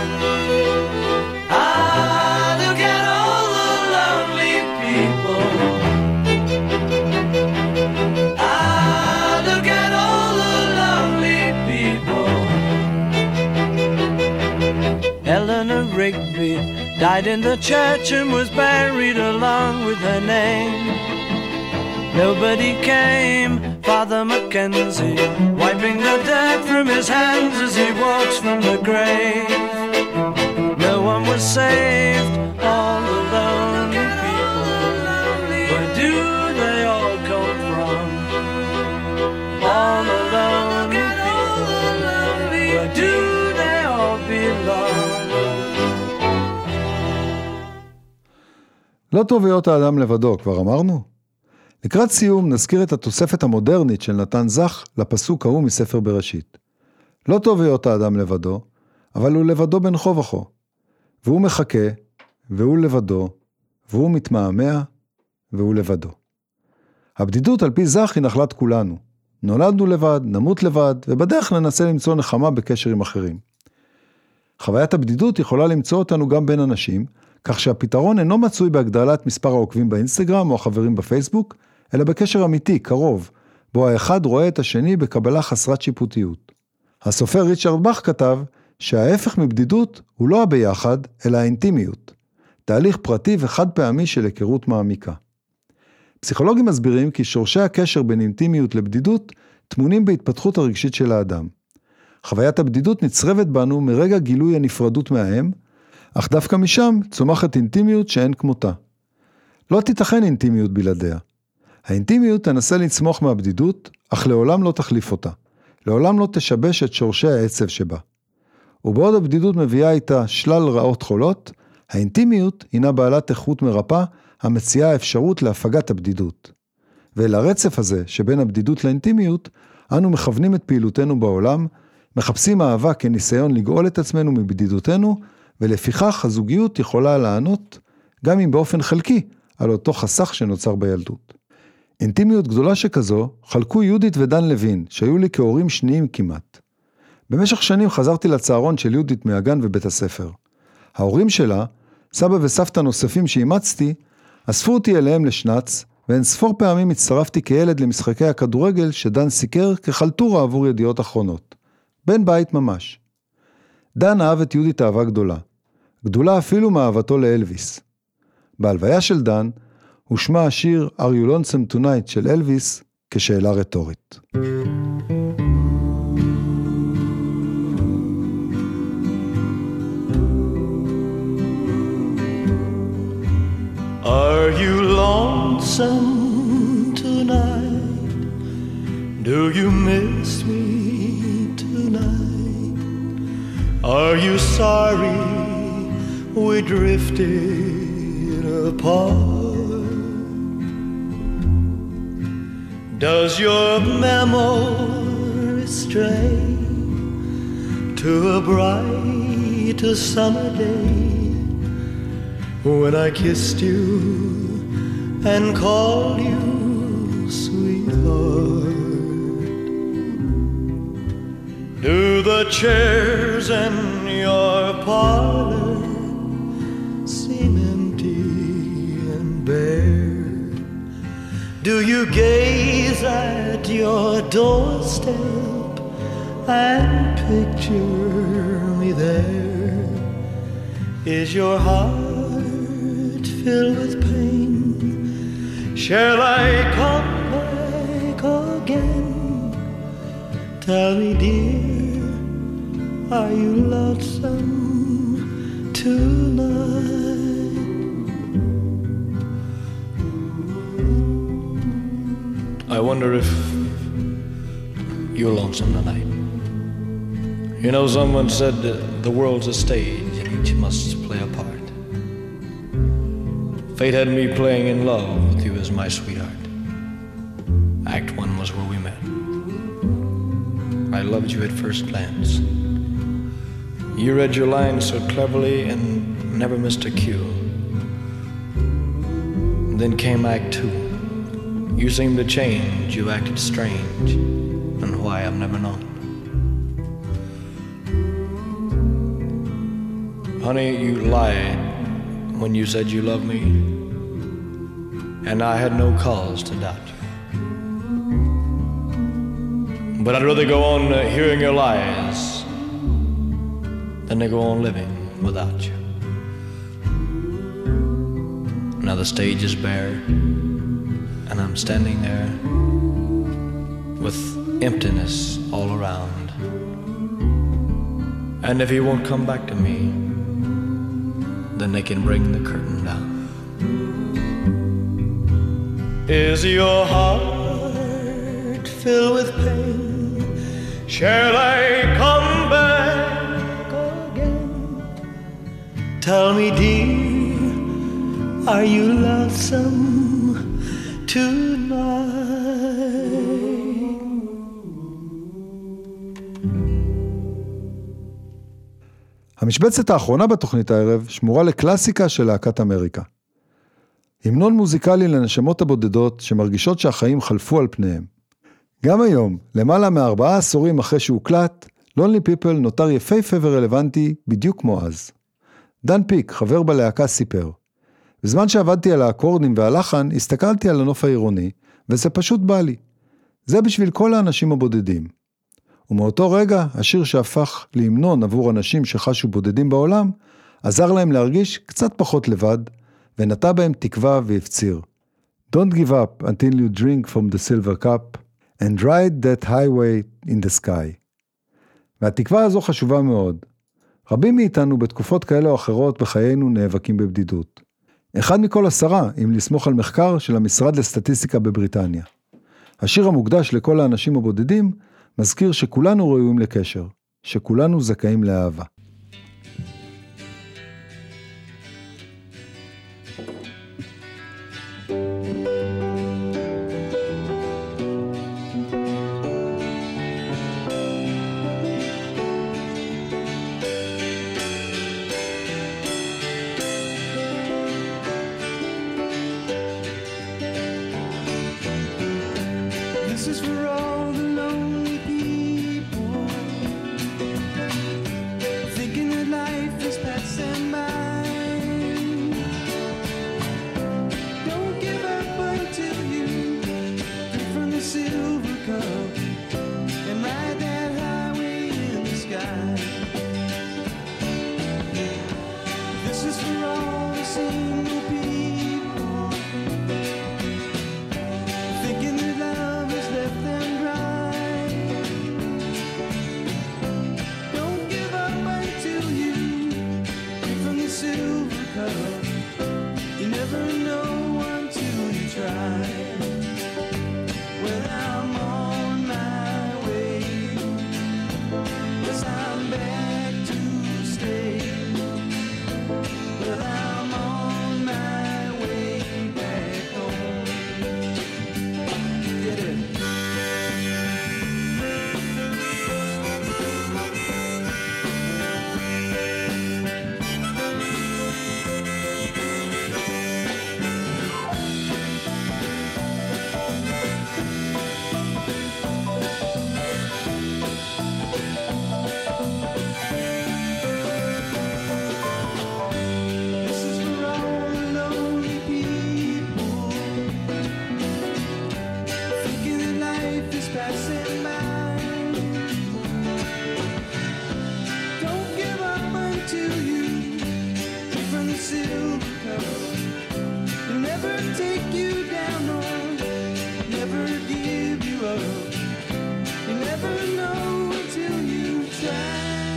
Speaker 10: Ah, look at all the lonely people. Ah, look at all the lonely people. Eleanor Rigby died in the church and was buried along with her name. Nobody came, Father Mackenzie, wiping the dirt from his hands as he walks from the grave. No one was saved, all the lonely people. Where do they all come from? All the lonely people. Where do they all belong?
Speaker 2: לא טוב להיות האדם לבדו, כבר אמרנו? לקראת סיום נזכיר את התוספת המודרנית של נתן זך לפסוק ההוא מספר בראשית. לא טוב להיות האדם לבדו, אבל הוא לבדו בין כה וכה. והוא מחכה, והוא לבדו, והוא מתמהמה, והוא לבדו. הבדידות על פי זך היא נחלת כולנו. נולדנו לבד, נמות לבד, ובדרך ננסה למצוא נחמה בקשר עם אחרים. חוויית הבדידות יכולה למצוא אותנו גם בין אנשים, כך שהפתרון אינו מצוי בהגדלת מספר העוקבים באינסטגרם או החברים בפייסבוק, אלא בקשר אמיתי, קרוב, בו האחד רואה את השני בקבלה חסרת שיפוטיות. הסופר ריצ'רד באך כתב שההפך מבדידות הוא לא הביחד, אלא האינטימיות, תהליך פרטי וחד פעמי של היכרות מעמיקה. פסיכולוגים מסבירים כי שורשי הקשר בין אינטימיות לבדידות טמונים בהתפתחות הרגשית של האדם. חוויית הבדידות נצרבת בנו מרגע גילוי הנפרדות מהאם, אך דווקא משם צומחת אינטימיות שאין כמותה. לא תיתכן אינטימיות בלעדיה. האינטימיות תנסה לצמוח מהבדידות, אך לעולם לא תחליף אותה. לעולם לא תשבש את שורשי העצב שבה. ובעוד הבדידות מביאה איתה שלל רעות חולות, האינטימיות הינה בעלת איכות מרפא, המציעה אפשרות להפגת הבדידות. ולרצף הזה שבין הבדידות לאינטימיות, אנו מכוונים את פעילותנו בעולם, מחפשים אהבה כניסיון לגאול את עצמנו מבדידותנו, ולפיכך הזוגיות יכולה לענות, גם אם באופן חלקי, על אותו חסך שנוצר בילדות. אינטימיות גדולה שכזו חלקו יהודית ודן לוין, שהיו לי כהורים שניים כמעט. במשך שנים חזרתי לצהרון של יהודית מהגן ובית הספר. ההורים שלה, סבא וסבתא נוספים שאימצתי, אספו אותי אליהם לשנץ, ואין ספור פעמים הצטרפתי כילד למשחקי הכדורגל שדן סיקר כחלטורה עבור ידיעות אחרונות. בן בית ממש. דן אהב את יהודית אהבה גדולה. גדולה אפילו מאהבתו לאלוויס. בהלוויה של דן, הושמע השיר Are You Lonesome Tonight של אלוויס כשאלה רטורית.
Speaker 8: Are you lonesome tonight? Do you miss me tonight? Are you sorry we drifted apart? Does your memory stray to a bright summer day when I kissed you and called you sweetheart? Do the chairs in your parlor seem empty and bare? Do you gaze at your doorstep and picture me there? Is your heart filled with pain? Shall I come back again? Tell me, dear, are you lonesome tonight? I wonder if you're lonesome tonight. You know, someone said the world's a stage and each must play a part. Fate had me playing in love with you as my sweetheart. Act 1 was where we met.
Speaker 11: loved you at first glance. You read your lines so cleverly and never missed a cue. Then came Act 2. You seemed to change, you acted strange, and why I've never known. Honey, you lied when you said you loved me, and I had no cause to doubt you. But I'd rather go on hearing your lies than to go on living without you. Now the stage is bare, and I'm standing there with emptiness all around. And if he won't come back to me, then they can bring the curtain down. Is your heart filled with pain? Shall I come back again? Tell me, dear, are you lonesome tonight?
Speaker 2: המשבצת האחרונה בתוכנית הערב שמורה לקלאסיקה של להקת אמריקה. המנון מוזיקלי לנשמות הבודדות שמרגישות שהחיים חלפו על פניהם. גם היום, למעלה מ4 עשורים אחרי שהוקלט, Lonely People נותר יפהפה ורלוונטי בדיוק כמו אז. דן פיק, חבר בלהקה, סיפר: בזמן שעבדתי על האקורדים והלחן, הסתכלתי על הנוף העירוני, וזה פשוט בא לי. זה בשביל כל האנשים הבודדים. ומאותו רגע, השיר שהפך להמנון עבור אנשים שחשו בודדים בעולם, עזר להם להרגיש קצת פחות לבד, ונטע בהם תקווה והפציר. Don't give up until you drink from the silver cup, and ride that highway in the sky. והתקווה הזו חשובה מאוד. רבים מאיתנו בתקופות כאלה או אחרות בחיינו נאבקים בבדידות. 1 מכל 10, אם לסמוך על מחקר של המשרד לסטטיסטיקה בבריטניה. השיר המוקדש לכל האנשים הבודדים, מזכיר שכולנו ראויים לקשר, שכולנו זכאים לאהבה.
Speaker 3: This is for all the lonely people, thinking that life is passing by. Don't give up until you drink from the silver cup and ride that highway in the sky. This is for all the single people, thinking that love has left them dry. Don't give up until you drink from the silver cup. You never know until you try. Well, I'm on my way, 'cause I'm back to stay. Well, I'm on my way back home. Get it? This is for all the lonely people, thinking that life is passing by. Don't give up until you drink from the silver cup. It'll never take you down or never give you up. You never know until you try.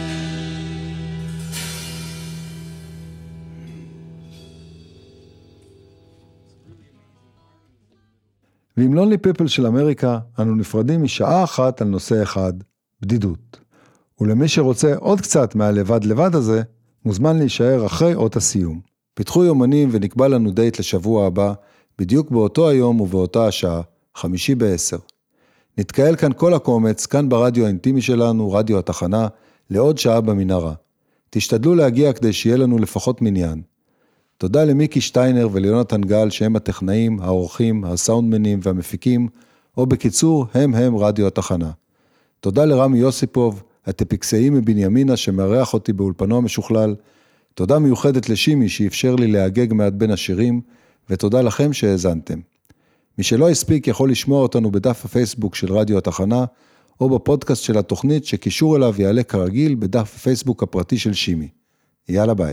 Speaker 2: ועם Lonely People של אמריקה, אנו נפרדים משעה אחת על נושא אחד, בדידות. ולמי שרוצה עוד קצת מהלבד לבד הזה, מוזמן להישאר אחרי אות הסיום. פיתחו יומנים ונקבע לנו דייט לשבוע הבא, בדיוק באותו היום ובאותה השעה, 5:50. נתקהל כאן כל הקומץ, כאן ברדיו האינטימי שלנו, רדיו התחנה, לעוד שעה במנהרה. תשתדלו להגיע כדי שיהיה לנו לפחות מניין. תודה למיקי שטיינר וליונתן גל שהם הטכנאים, האורחים, הסאונדמנים והמפיקים, או בקיצור, הם רדיו התחנה. תודה לרמי יוסיפוב, הטפיקסאי מבנימינה שמארח אותי באולפנו המשוכלל. תודה מיוחדת לשימי שאפשר לי להגג מעט בין השירים, ותודה לכם שהאזנתם. מי שלא הספיק יכול לשמוע אותנו בדף הפייסבוק של רדיו התחנה, או בפודקאסט של התוכנית שקישור אליו יעלה כרגיל בדף הפייסבוק הפרטי של שימי. יאללה ביי.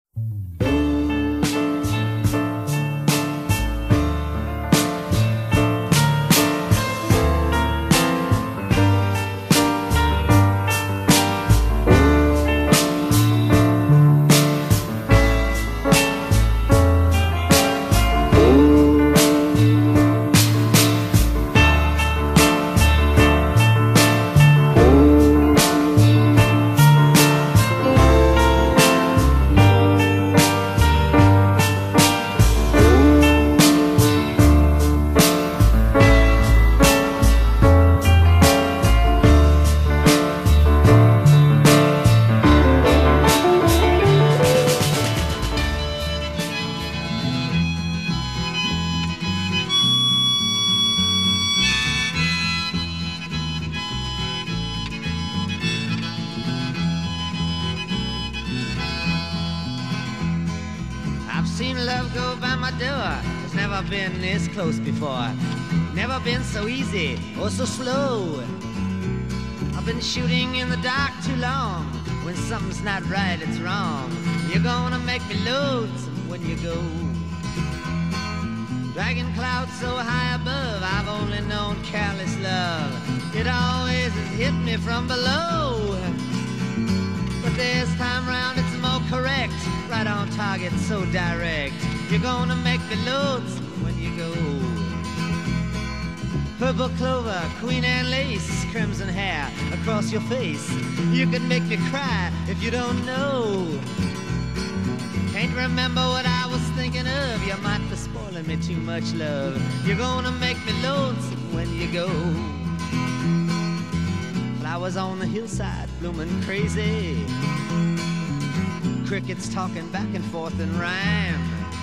Speaker 12: Been this close before, never been so easy or so slow. I've been shooting in the dark too long. When something's not right, it's wrong. You're gonna make me lonesome when you go. Dragging clouds so high above, I've only known careless love. It always has hit me from below. But this time round it's more correct, right on target, so direct. You're gonna make me lonesome when you go. Purple clover, queen and lace, crimson hair across your face. You can make me cry if you don't know. Can't remember what I was thinking of. You might be spoiling me too much, love. You're gonna make me lonesome when you go. Flowers on the hillside blooming crazy. Crickets talking back and forth in rhyme.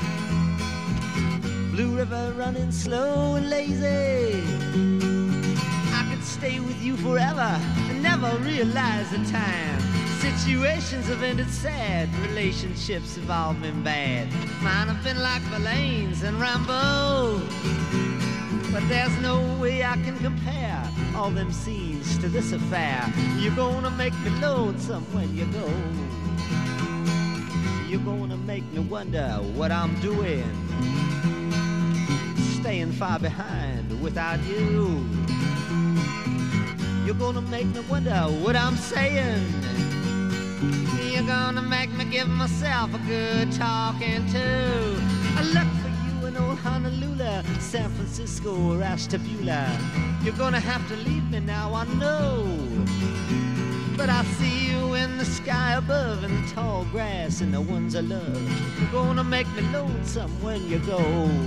Speaker 12: Blue river running slow and lazy. I could stay with you forever and never realize the time. Situations have ended sad, relationships have all been bad. Mine have been like Verlaine's and Rambo. But there's no way I can compare all them scenes to this affair. You're gonna make me lonesome when you go. You're gonna make me wonder what I'm doing, staying far behind without you. You're gonna make me wonder what I'm saying. You're gonna make me give myself a good talking to. I look for you in old Honolulu, San Francisco or Ashtabula. You're gonna have to leave me now, I know. But I see you in the sky above, in the tall grass and the ones I love. You're gonna make me lonesome when you go.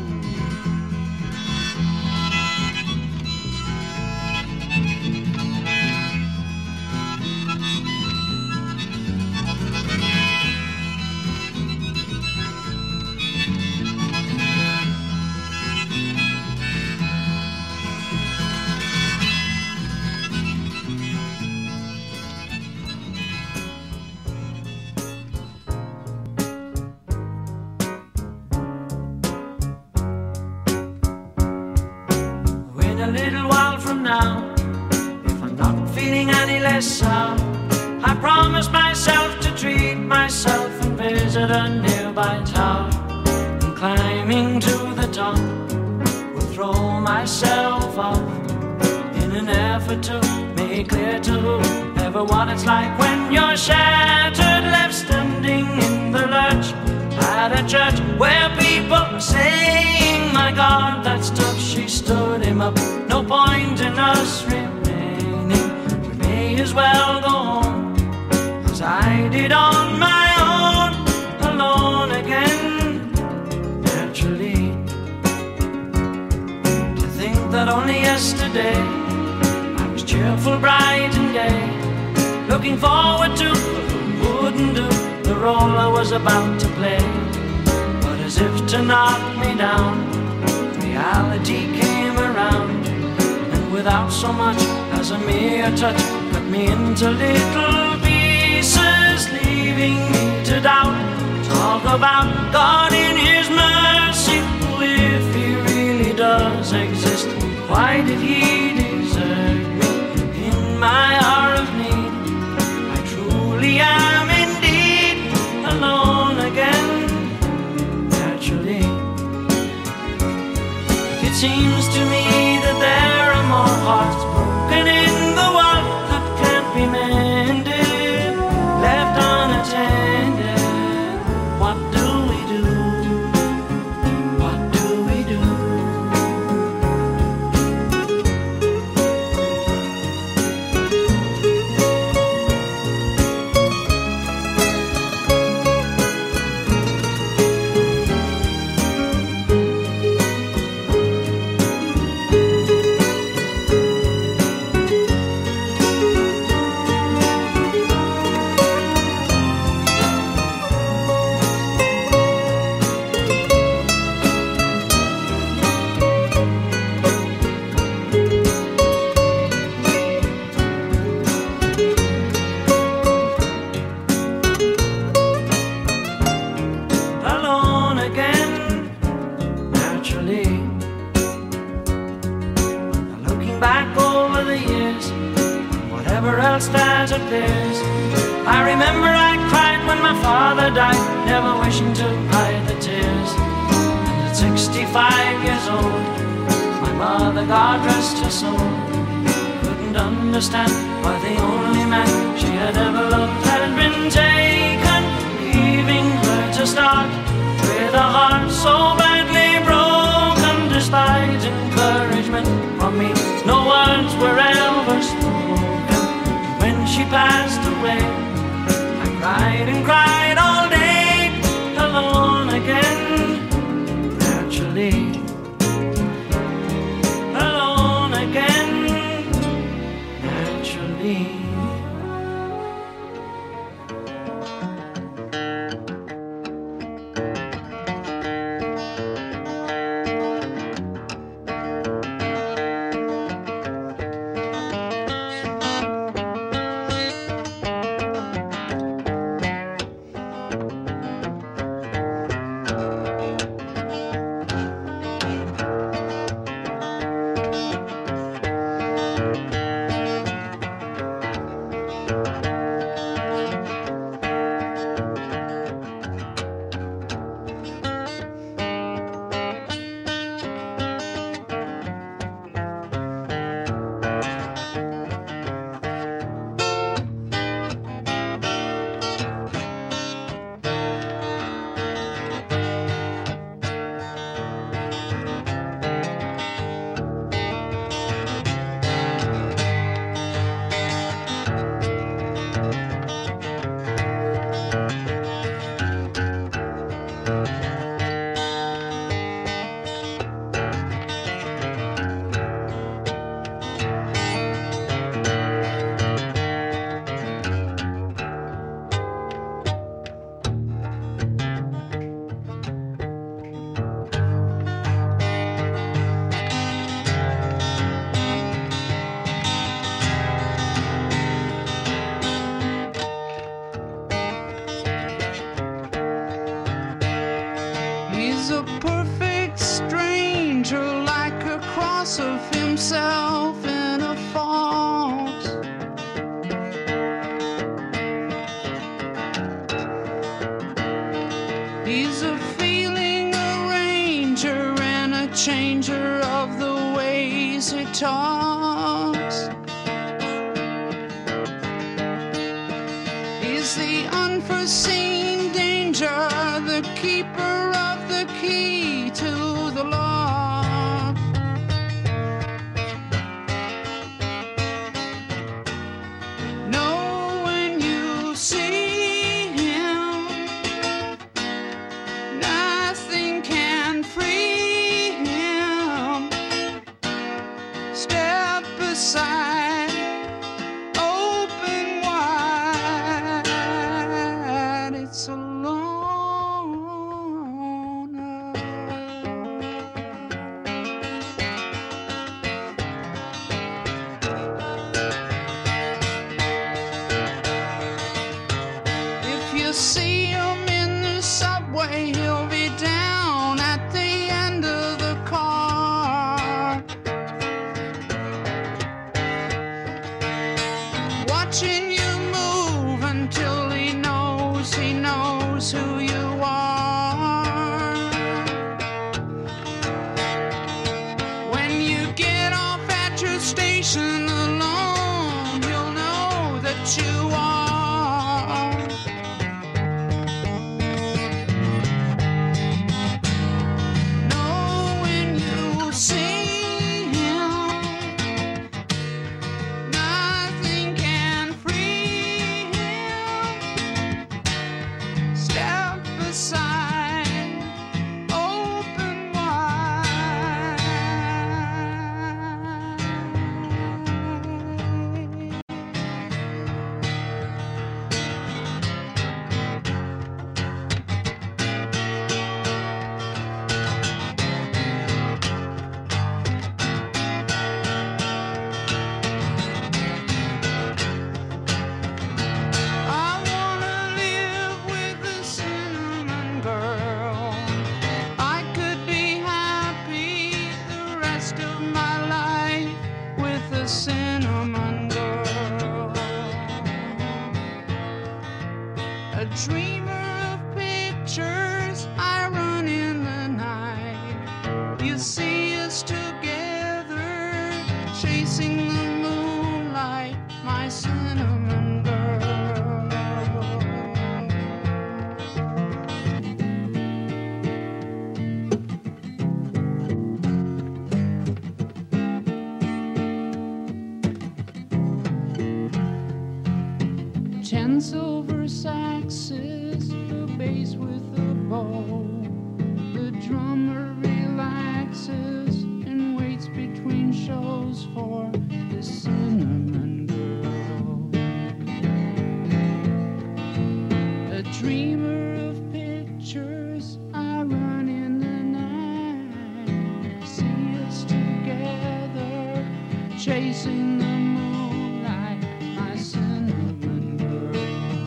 Speaker 10: I promised myself to treat myself and visit a nearby tower, and climbing to the top will throw myself off in an effort to make clear to everyone it's like when you're shattered, left standing in the lurch at a church where people are saying, my God, that stuff, she stood him up. No point in us remaining, we may as well go on as I did on my own, alone again. Naturally, to think that only yesterday cheerful, bright and gay, looking forward to who wouldn't do the role I was about to play. But as if to knock me down, reality came around, and without so much as a mere touch, cut me into little pieces, leaving me to doubt. Talk about God in His mercy. Well, if He really does exist, why did He desert me in my hour of need? I truly am indeed alone again. Naturally, it seems to me that there are more hearts broken in the world that can't be mended, left unattended. What do we do? What do we do? Alone again, naturally. Looking back over the years, whatever else that appears, I remember I cried when my father died, never wishing to hide the tears. And at 65 years old, my mother, God rest her soul, couldn't understand why the only man she had ever loved had been taken, leaving her to start with a heart so badly broken. Despite encouragement from me, no words were ever spoken. When she passed away, I cried and cried all day, alone again. Naturally, alone again. Naturally.
Speaker 13: He's a perfect stranger, like a cross of himself in a fault. He's a feeling arranger and a changer of the ways he talks. He's the unforeseen danger, the keeper of the key to the lock. Know when you see him, nothing can free him. Step aside. watching you move until he knows who you are. When you get off at your station alone, you'll know that you are. Know when you see him, nothing can free him. Step aside, open wide. I wanna live with a cinnamon girl. I could be happy the rest of my life with a cinnamon girl. A dreamer of pictures, I run in the night. You see us together, chasing the moonlight, my cinnamon girl. Ten silver saxes, the bass with a bow. The drummer relaxes and waits between shows for the cinnamon girl. A dreamer of pictures, I run in the night. See us together, chasing the moonlight, my cinnamon girl.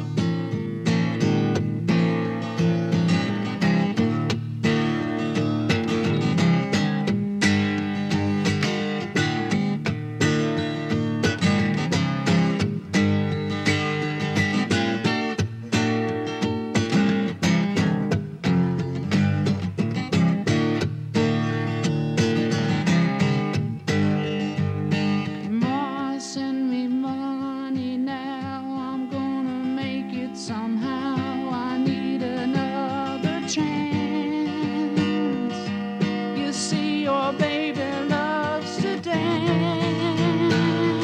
Speaker 13: Ma, send me money now. I'm gonna make it somehow. I need another chance. You see, your baby loves to dance.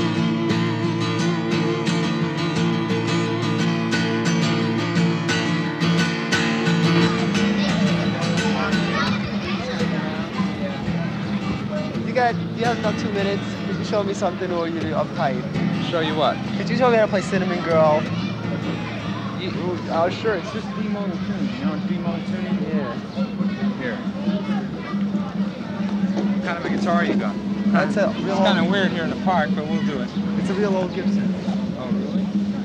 Speaker 14: You have about 2 minutes. Could you show me something, or you're uptight?
Speaker 15: Show you what?
Speaker 14: Could you show me how to play Cinnamon Girl?
Speaker 15: Sure, it's just D monotone. You know what D monotone?
Speaker 14: Yeah.
Speaker 15: Here. What kind of a guitar you got?
Speaker 14: That's a real
Speaker 15: It's kind of weird here in the park, but we'll do it.
Speaker 14: It's a real old Gibson.
Speaker 15: Oh, really?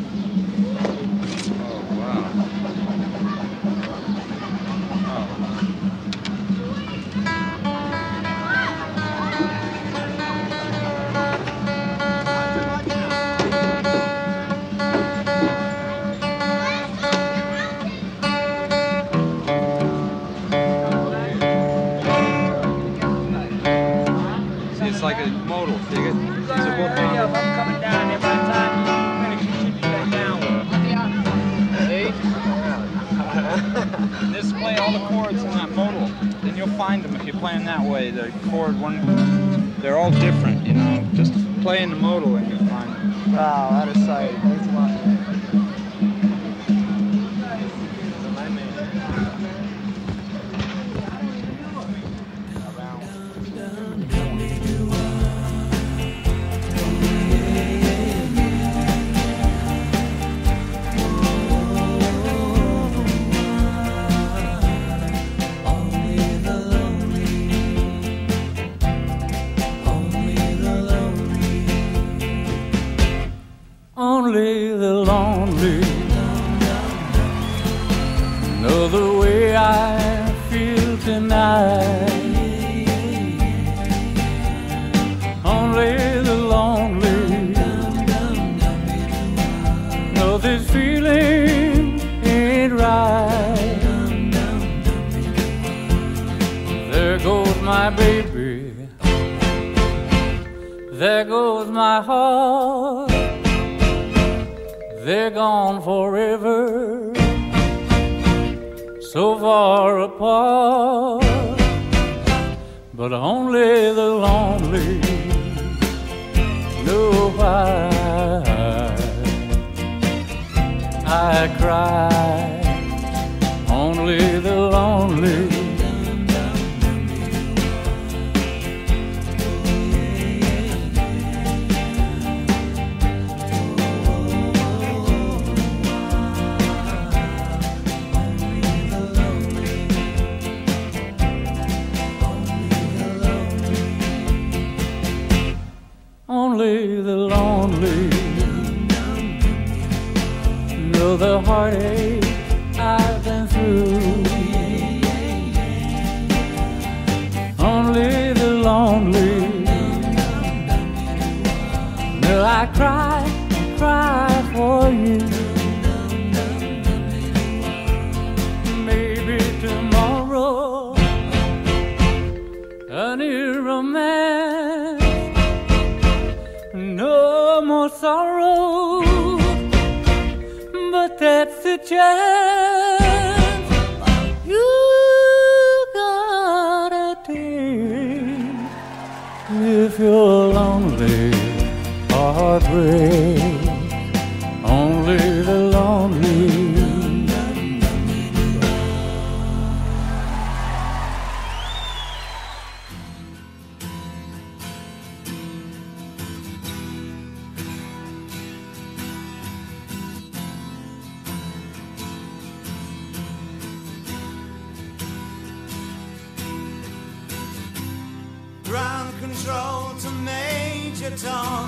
Speaker 15: Oh, wow. Oh. See, it's like a modal, dig it? These are both
Speaker 16: I'm coming down there by the time you finish, you should be back down with it. Just play all the chords in that modal, then you'll find them if you're playing that way. The chord they're all different, you know. Just play in the modal and you'll find them.
Speaker 14: Wow, out of sight. Thanks a lot.
Speaker 17: Only the lonely know the way I feel tonight. Only the lonely this feeling ain't right. There goes my baby, there goes my heart, they're gone forever, so far apart. But only the lonely know why I cry. Only the lonely only the lonely know the heartache I've been through. Only the lonely know I cry for you. Maybe tomorrow a new romance, no more sorrow, but that's the chance you gotta take if you're lonely. Heartbreak, only the lonely.
Speaker 18: Ground control to Major Tom.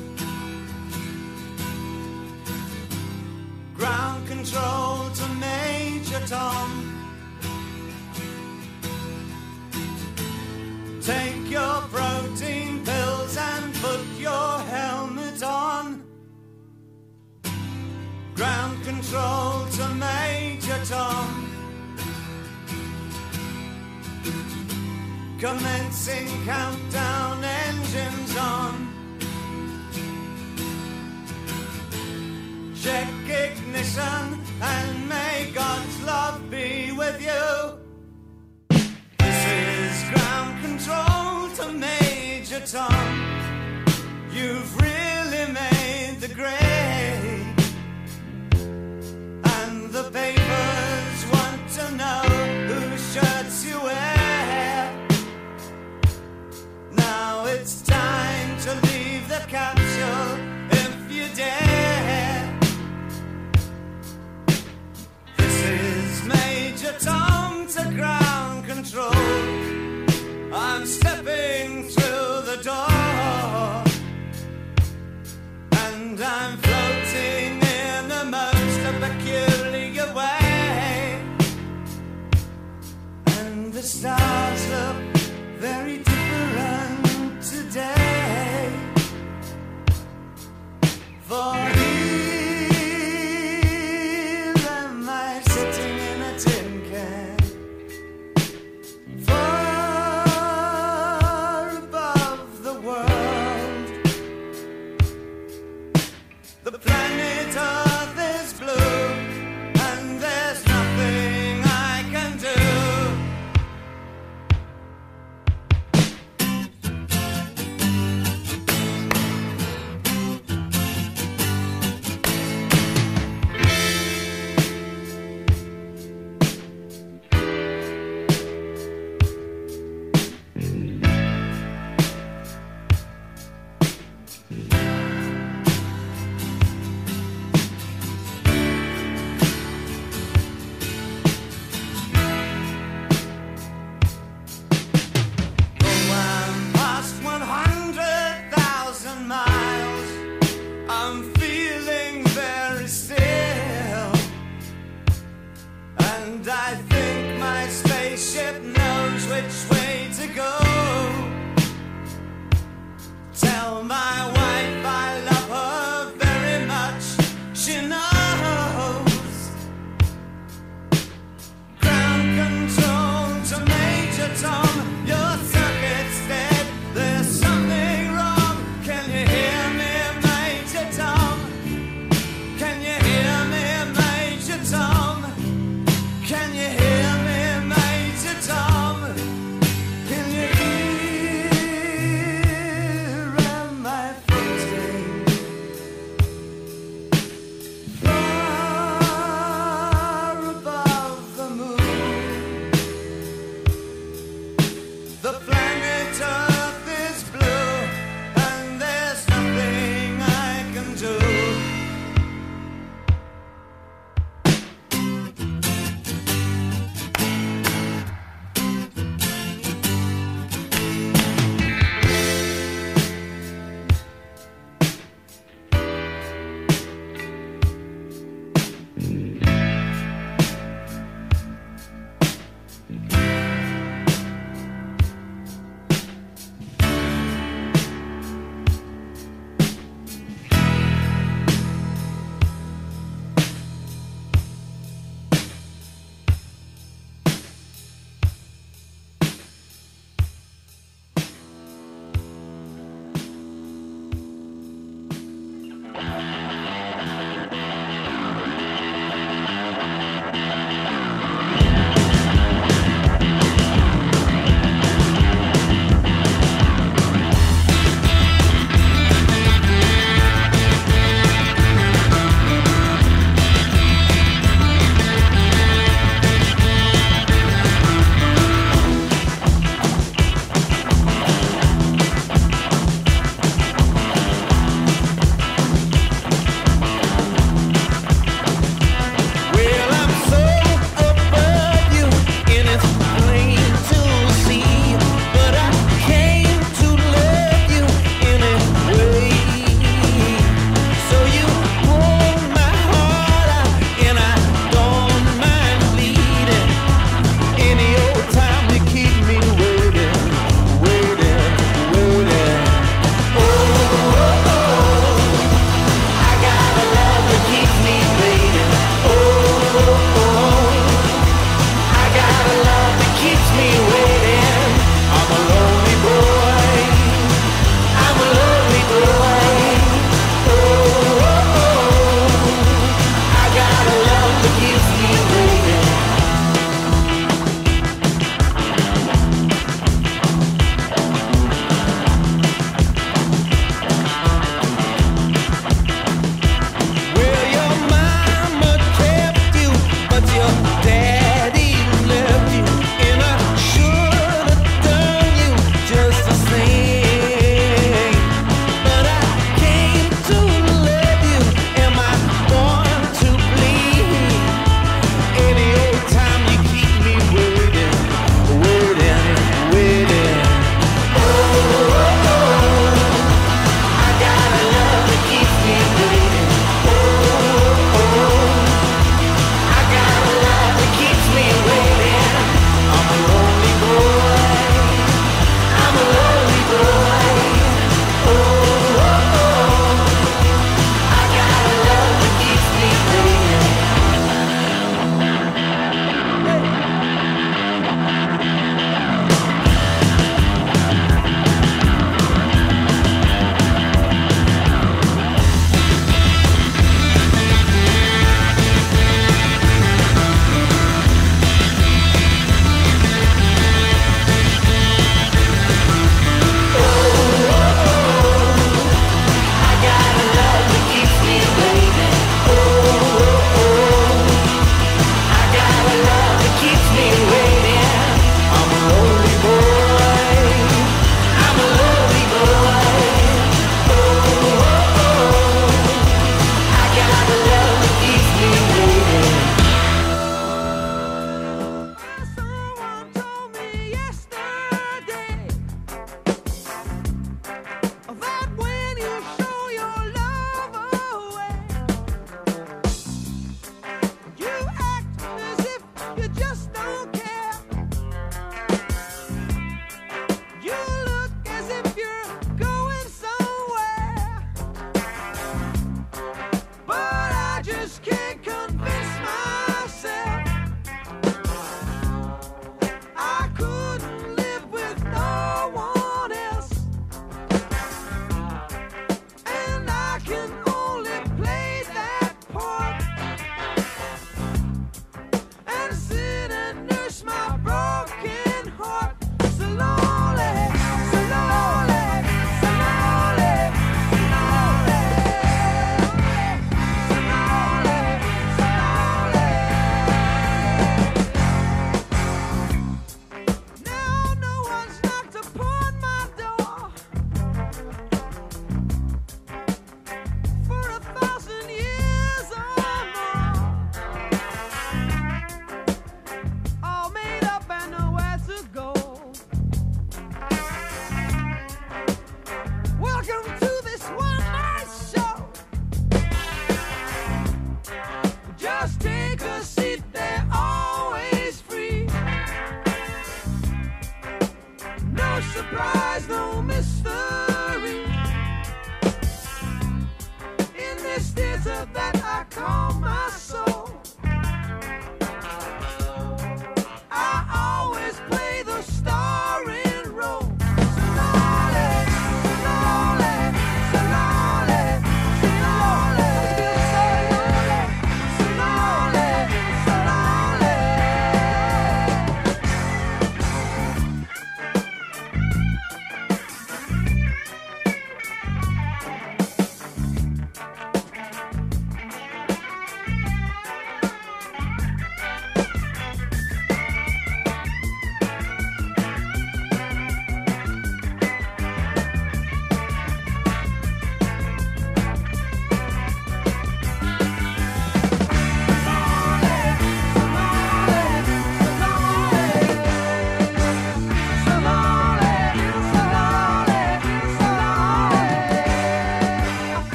Speaker 18: Ground control to Major Tom. Take your protein pills and put your helmet on. Ground control to Major Tom. Commencing countdown, engines on. Check ignition and may God's love be with you. This is ground control to Major Tom. You've really made the grade, and the papers want to know whose shirts you wear. Now it's time to leave the capsule if you dare. This is Major Tom to ground control. I'm stepping through the door, and I'm floating in the most peculiar way, and the stars look very different today. For here am I sitting in a tin can, far above the world. The planet Earth is blue, and there's nothing I can do. Tell my wife I love her very much. She knows.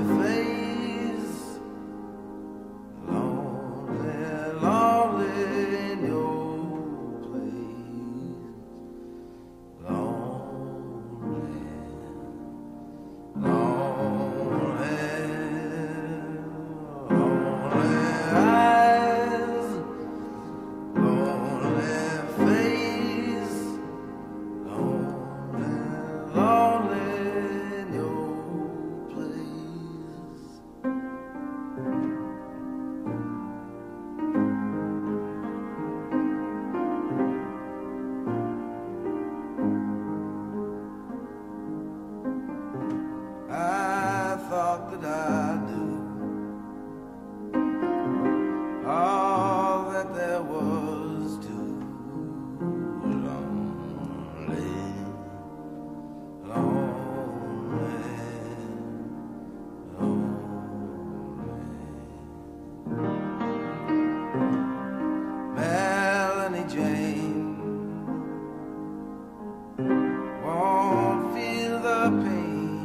Speaker 18: face, lonely, lonely in your place, lonely, lonely, lonely eyes, lonely face, lonely, lonely in your place. I thought that I knew all that there was to lonely, lonely, lonely. Melanie Jane won't feel the pain.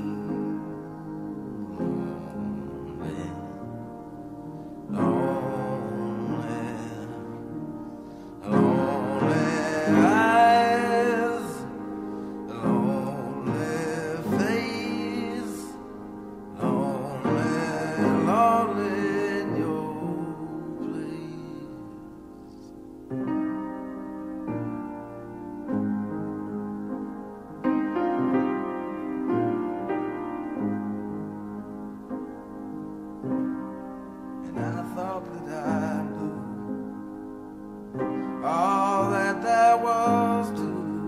Speaker 18: All that there was to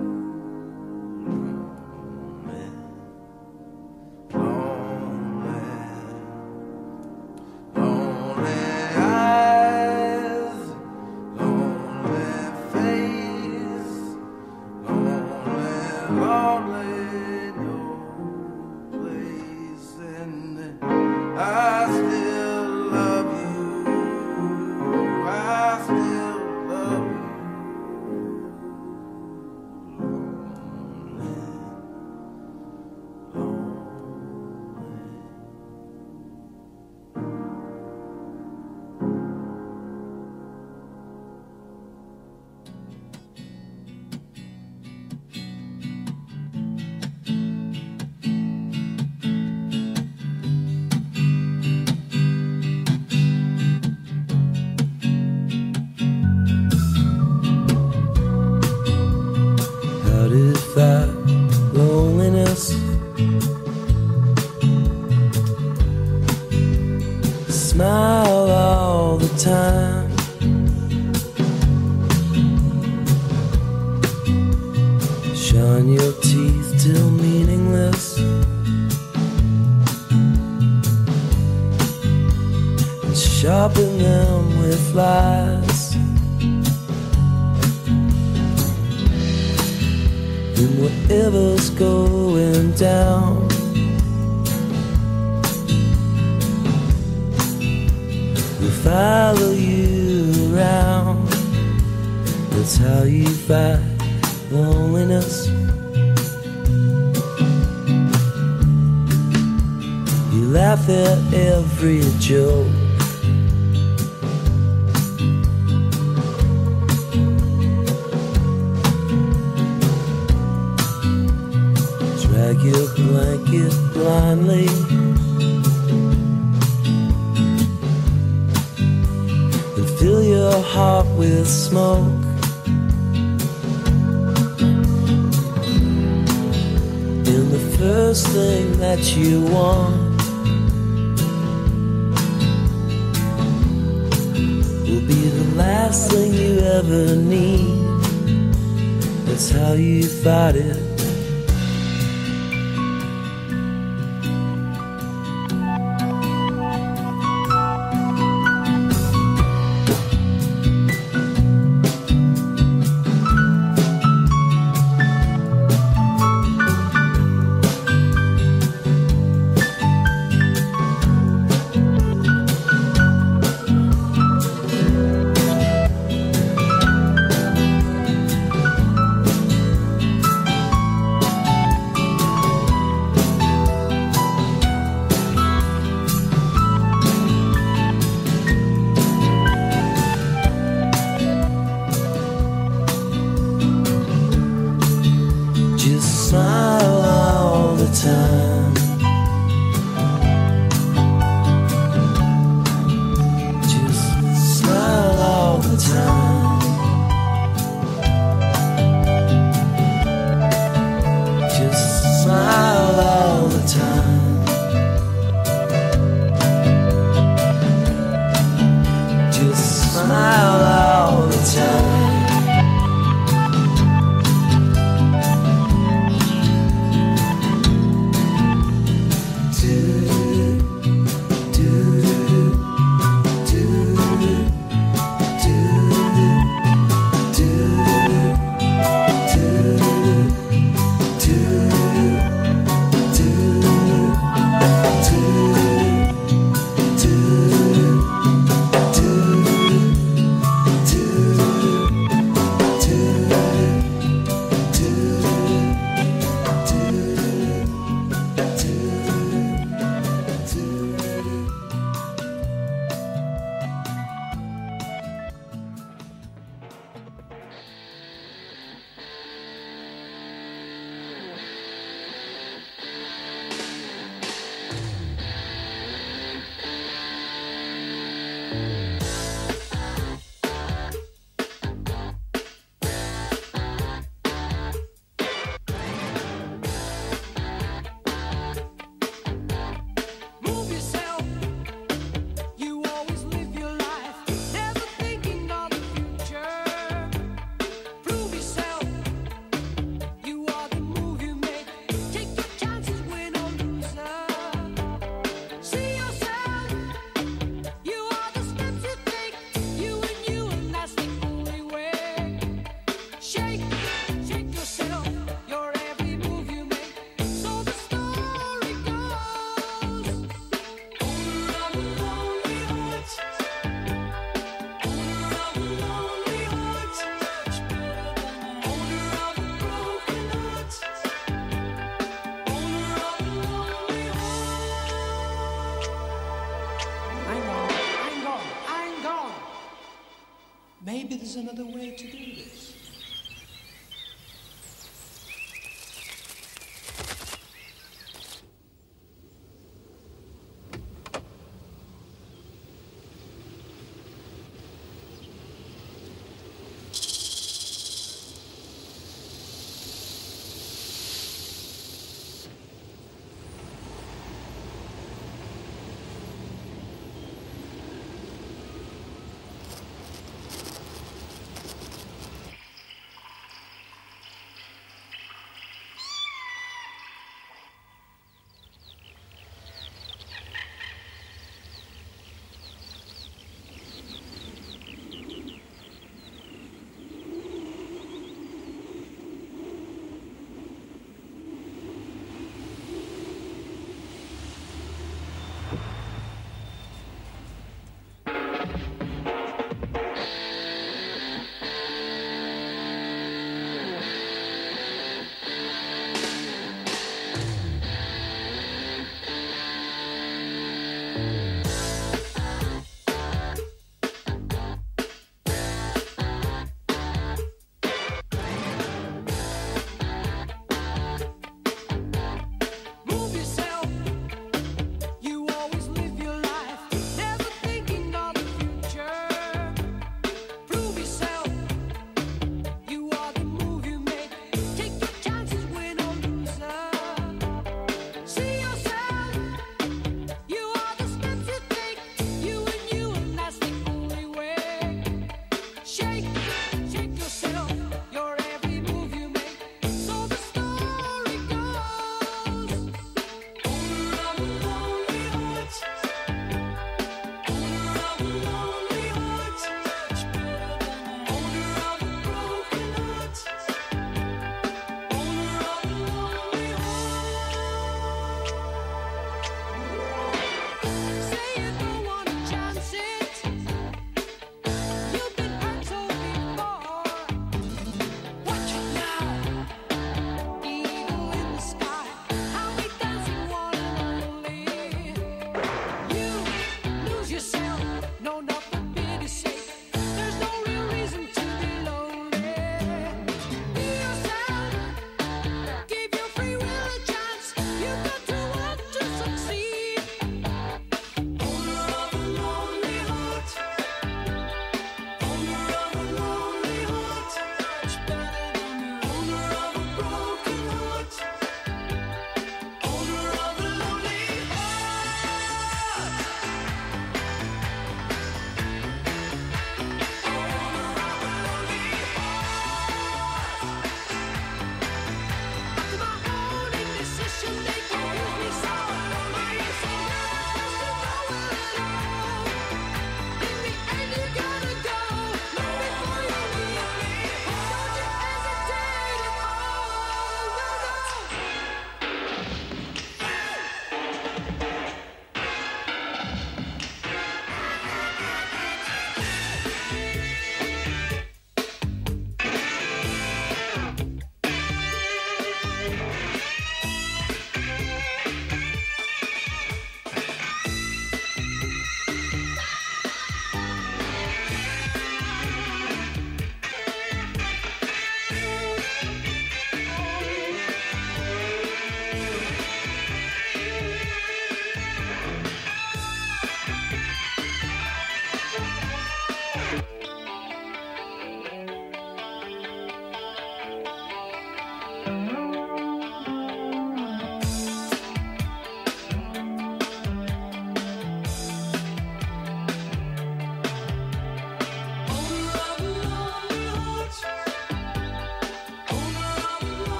Speaker 18: lonely, lonely eyes, lonely face, lonely, lonely in your place, and I still love you. I still love you.
Speaker 8: How did that loneliness smile all the time? Shine your teeth till meaningless, and sharpen them with lies. And whatever's going down, will follow you around. That's how you fight loneliness. You laugh at every joke, drag your blanket blindly, and fill your heart with smoke. And the first thing that you want will be the last thing you ever need. That's how you fight it.
Speaker 19: another way to do this.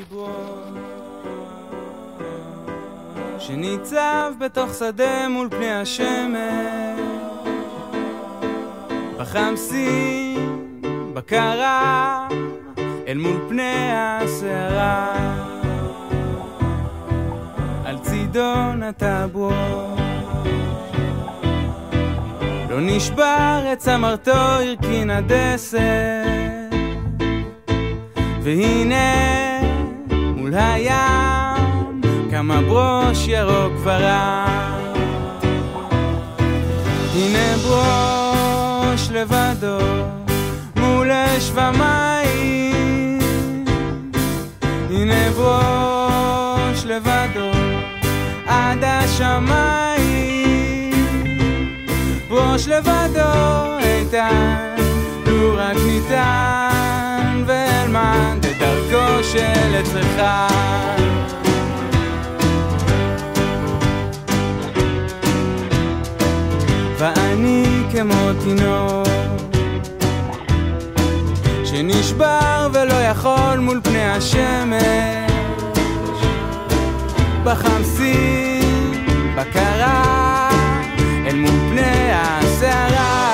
Speaker 19: דיברו שניצב בתוך שדה מול פני השמש בחמסין בקרה אל מול פני הסערה על צידון הטבור לא נשבר את צמרתו הרכין הדסת והנה מול הים כמה ברוש ירוק ורק הנה ברוש לבדו מול אש ומים הנה ברוש לבדו עד השמיים ברוש לבדו איתן לו רק ניתן ואלמד את דרכו של אצלך ואני כמו תינוק שנשבר ולא יכול מול פני השמש בחמסין בקרה אל מול פני הסערה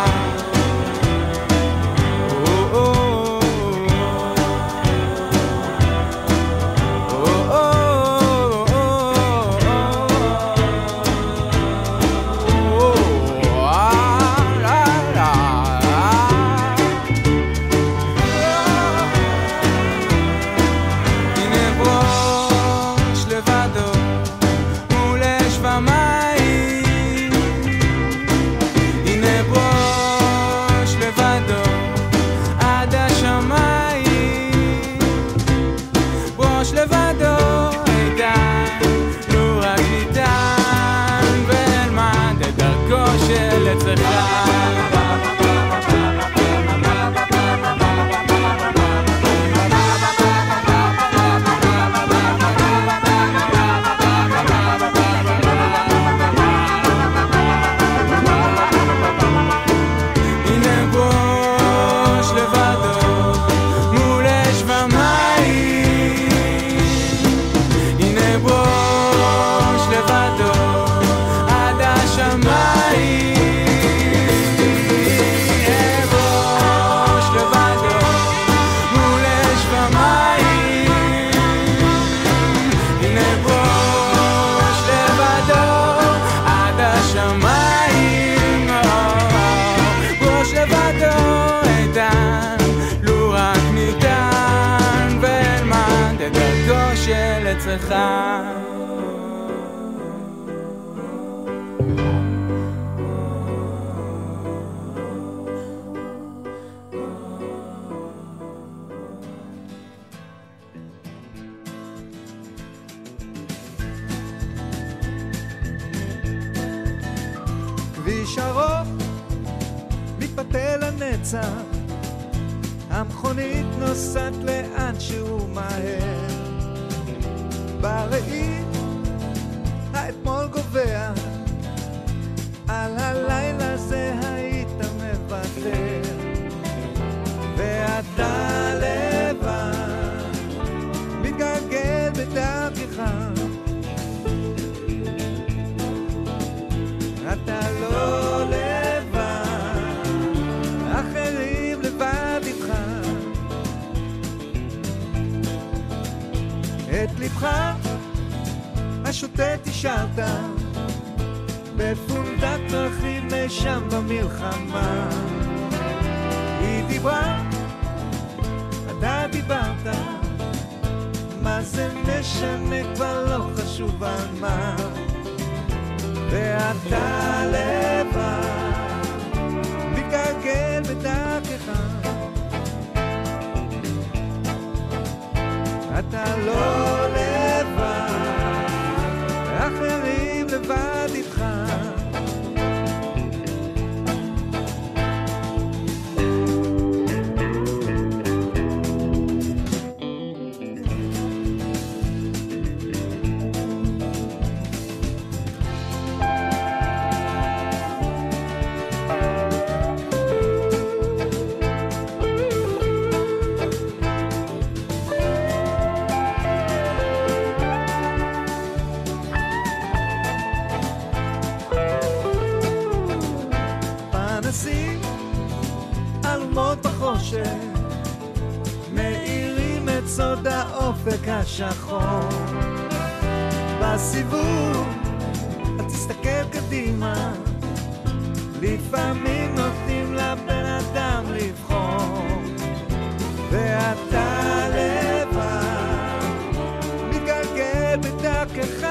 Speaker 19: אצלך
Speaker 3: כביש ארוך מתפתל לנצח המכונית נוסעת לאן שהוא מהר בראי האתמול גובע על הלילה זה היית מוותר ואתה לבד מתגלגל בדרכך אתה לא לבד אחרים לבד איתך את לבך השוטט השארת בפונדק דרכים משם במלחמה היא דיברה, אתה דיברת מה זה משנה כבר לא חשוב על מה ואתה לבד מתגלגל בדרכך אתה לא לבד אחרים לבד איתך
Speaker 20: מאירים את סוד האופק השחור. בסיבוב את תסתכל קדימה, לפעמים נותנים לבן אדם לבחור, ואתה לבד מתגלגל בדרכך,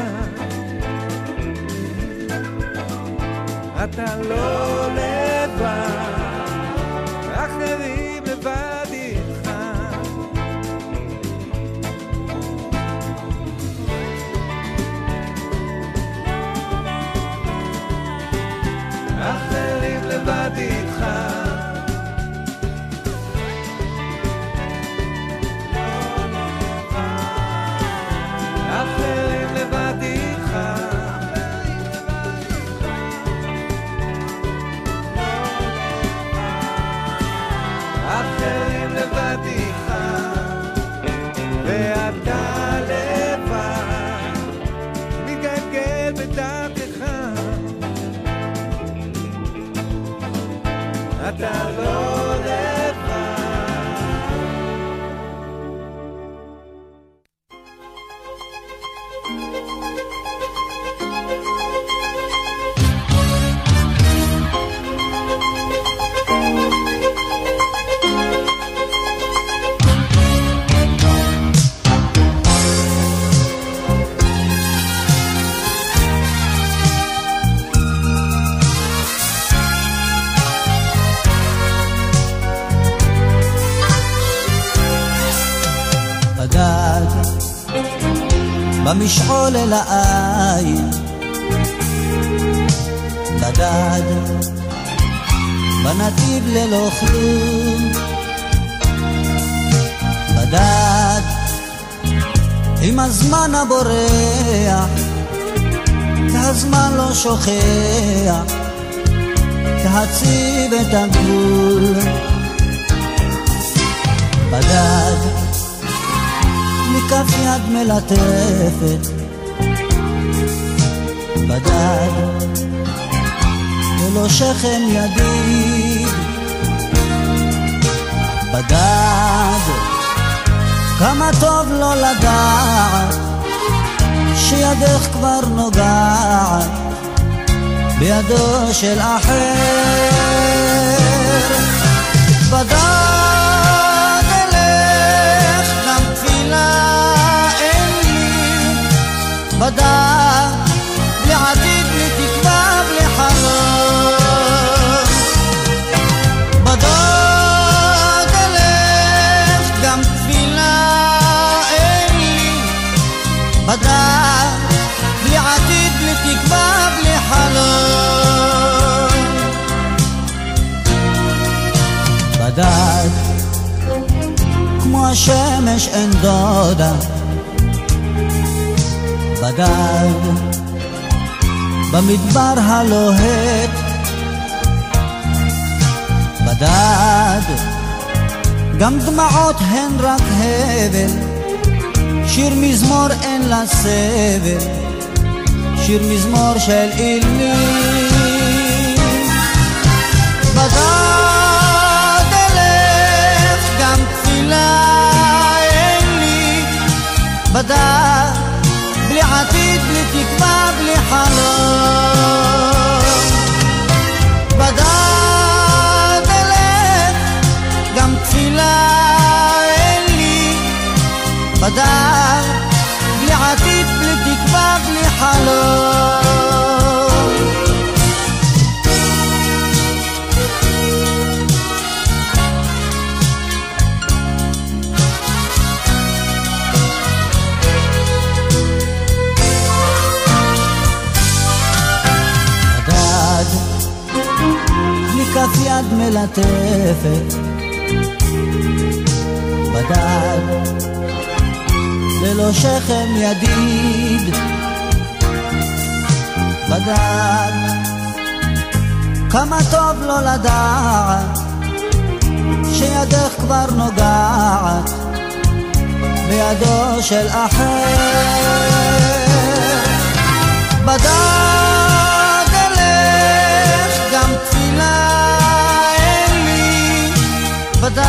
Speaker 20: אתה לא לבד, אחרים לבד איתך. אחרים לבד איתך. אחרים לבד איתך. אחרים לבד איתך. ואתה לבד מתגלגל בדרכך, אתה לא לבד.
Speaker 21: במשעול אל העין בדד, בנתיב ללא כלום בדד, עם הזמן הבורח, הזמן לא שוכח, תציב את הגבול בדד, מכף יד מלטפת בדד, ולא שכם ידיד בדד, כמה טוב לא לדעת שידך כבר נוגעת בידו של אחר בדד, אלך גם תפילה אין לי בדד, בלי עתיד, בלי תקווה, בלי חלום בדד, אלך גם תפילה אין לי בדד, בלי עתיד, בלי תקווה, בלי חלום בדד, כמו השמש אין דודה בדד, במדבר הלוהט בדד, גם דמעות הן רק הבל, שיר מזמור אין לה סבל, שיר מזמור של אילים בדד, אלך גם תפילה אין לי בדד, בלי עתיד, בלי תקווה, בלי חלום בדד, אלך גם תפילה אין לי בדד, בלי עתיד, בלי תקווה, בלי חלום כף יד מלטפת בדד, ללא שכם ידיד בדד, כמה טוב לא לדעת שידך כבר נוגעת בידו של אחר בדד, אלך גם תפילה אין לי בדד,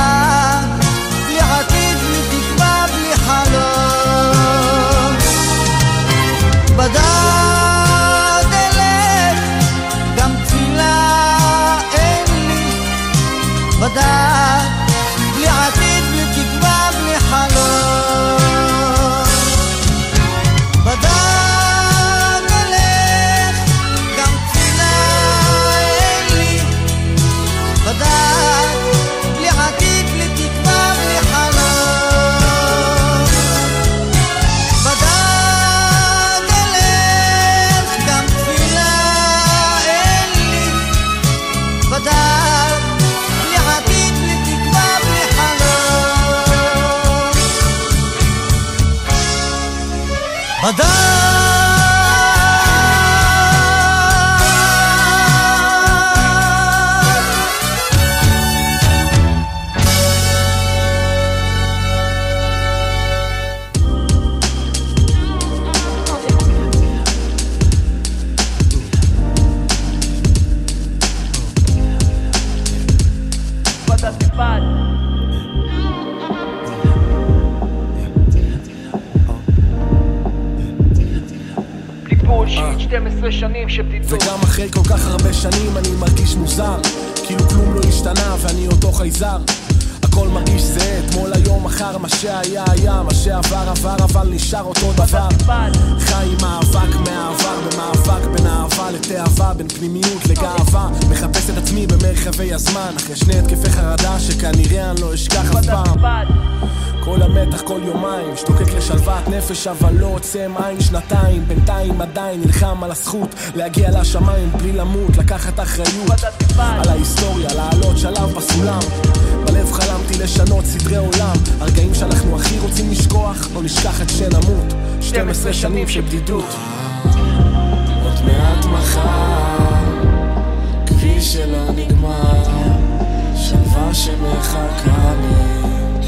Speaker 1: בולשיט, 12 שנים של בדידות.
Speaker 22: וגם אחרי כל כך הרבה שנים אני מרגיש מוזר, כאילו כלום לא השתנה ואני אותו חייזר. הכל מרגיש זה, אתמול היום מחר, מה שהיה היה, מה שעבר עבר, אבל נשאר אותו דבר. חי עם מאבק מהעבר, במאבק בין אהבה לתאווה, בין פנימיות לגאווה, מחפש את עצמי במרחבי הזמן, אחרי שני התקפי חרדה שכנראה אני לא אשכח אף פעם. כל המתח כל יומיים, שתוקק לשלוות נפש אבל לא עוצם עין, שנתיים בינתיים עדיין נלחם על הזכות להגיע לשמיים בלי למות, לקחת אחריות על ההיסטוריה, לעלות שלב בסולם. בלב חלמתי לשנות סדרי עולם, הרגעים שאנחנו הכי רוצים לשכוח, לא נשכח את שנמות. 12 שנים של בדידות. עוד מעט מחר, כביש שלא נגמר, שלווה שמחכה לי.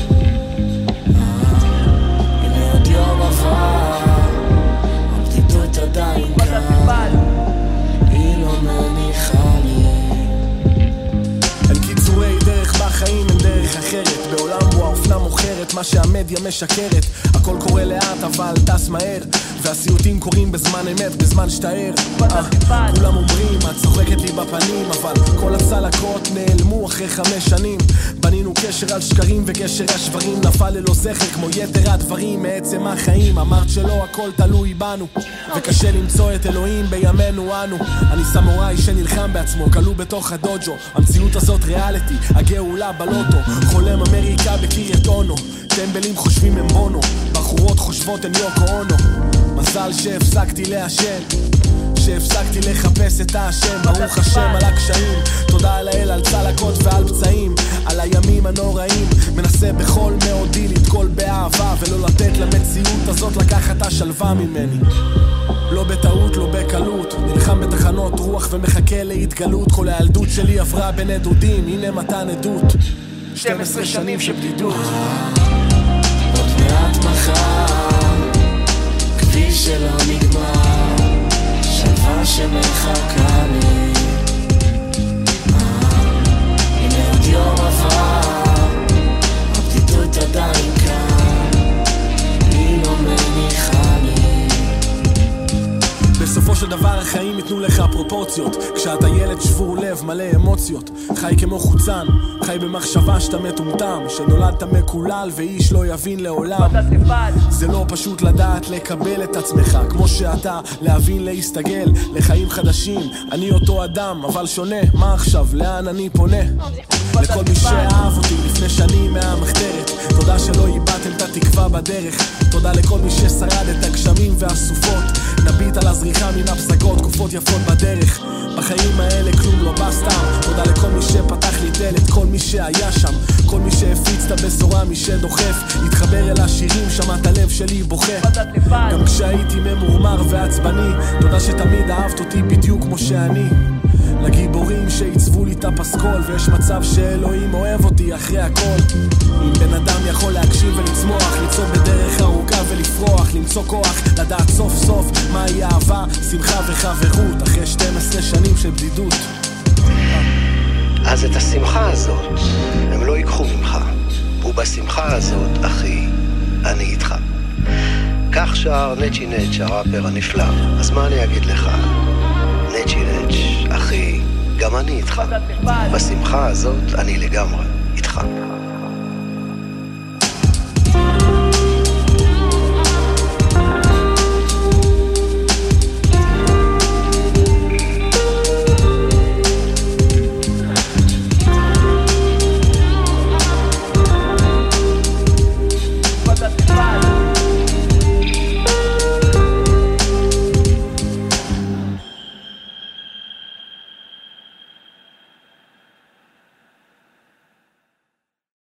Speaker 22: הנה עוד יום עבר, הבדידות עדיין כאן, היא לא מניחה לי. אין קיצורי דרך בחיים, אין דרך אחרת, בעולם בו האופנה מוכרת מה שהמדיה משקרת. הכל קורה לאט אבל טס מהר, והסיוטים קורים בזמן אמת, בזמן שתאר. כולם אומרים, את צוחקת לי בפנים, אבל כל הצלקות נעלמו אחרי 5 שנים. בנינו קשר על שקרים וקשר השברים נפל ללא זכר כמו יתר הדברים מעצם החיים. אמרת שלא הכל תלוי בנו, וקשה למצוא את אלוהים בימינו אנו. אני סמוראי שנלחם בעצמו, כלוא בתוך הדוג'ו. המציאות הזאת ריאליטי, הגאולה בלוטו. חולם אמריקה בקריית אונו, טמבלים חושבים הם בונו, בחורות חושבות הם יוקו אונו. מזל שהפסקתי לעשן, שהפסקתי לחפש את האשם. ברוך השם על הקשיים, תודה לאל על צלקות ועל פצעים, על הימים הנוראים. מנסה בכל מאודי לתקול באהבה, ולא לתת למציאות הזאת לקחת השלווה ממני. לא בטעות, לא בקלות, נלחם בתחנות רוח ומחכה להתגלות. כל הילדות שלי עברה בין עדודים, הנה מתן עדות. 12 שנים של בדידות. עוד מעט מחר, כביש שלא נגמר, שלווה שמחכה לי. הנה עוד יום עבר, הבדידות עדיין כאן, היא לא מניחה לי. בסופו של דבר החיים יתנו לך פרופורציות, כשאתה ילד שבור לב מלא אמוציות, חי כמו חוצן, חי במחשבה שאתה מטומטם, שנולדת מקולל ואיש לא יבין לעולם. זה לא פשוט לדעת לקבל את עצמך כמו שאתה, להבין להסתגל לחיים חדשים. אני אותו אדם אבל שונה, מה עכשיו, לאן אני פונה? לכל מי שאהב אותי לפני שנים מהמחתרת, תודה שלא איבדתם את התקווה בדרך. תודה לכל מי ששרד את הגשמים והסופות, נביט על הזריחה מן הפסגות, תקופות יפות בדרך. בחיים האלה כלום לא בא סתם, תודה לכל מי שפתח לי דלת, כל מי שהיה שם, כל מי שהפיץ את הבשורה, מי שדוחף התחבר אל השירים, שמע את הלב שלי בוכה. גם כשהייתי ממורמר ועצבני, תודה שתמיד אהבת אותי בדיוק כמו שאני. לגיבורים שעיצבו לי את הפסקול, ויש מצב שאלוהים אוהב אותי אחרי הכל. אם בן אדם יכול להקשיב ולצמוח, ליצור בדרך ארוכה ולפרוח, למצוא כוח, לדעת סוף סוף מהי אהבה, שמחה וחברות, אחרי 12 שנים של בדידות.
Speaker 23: אז את השמחה הזאת הם לא ייקחו ממך, ובשמחה הזאת, אחי, אני איתך. כך שר נצ'י נצ' הראפר הנפלא, אז מה אני אגיד לך? נצ'י נצ' אחי, גם אני איתך. בשמחה הזאת אני לגמרי איתך.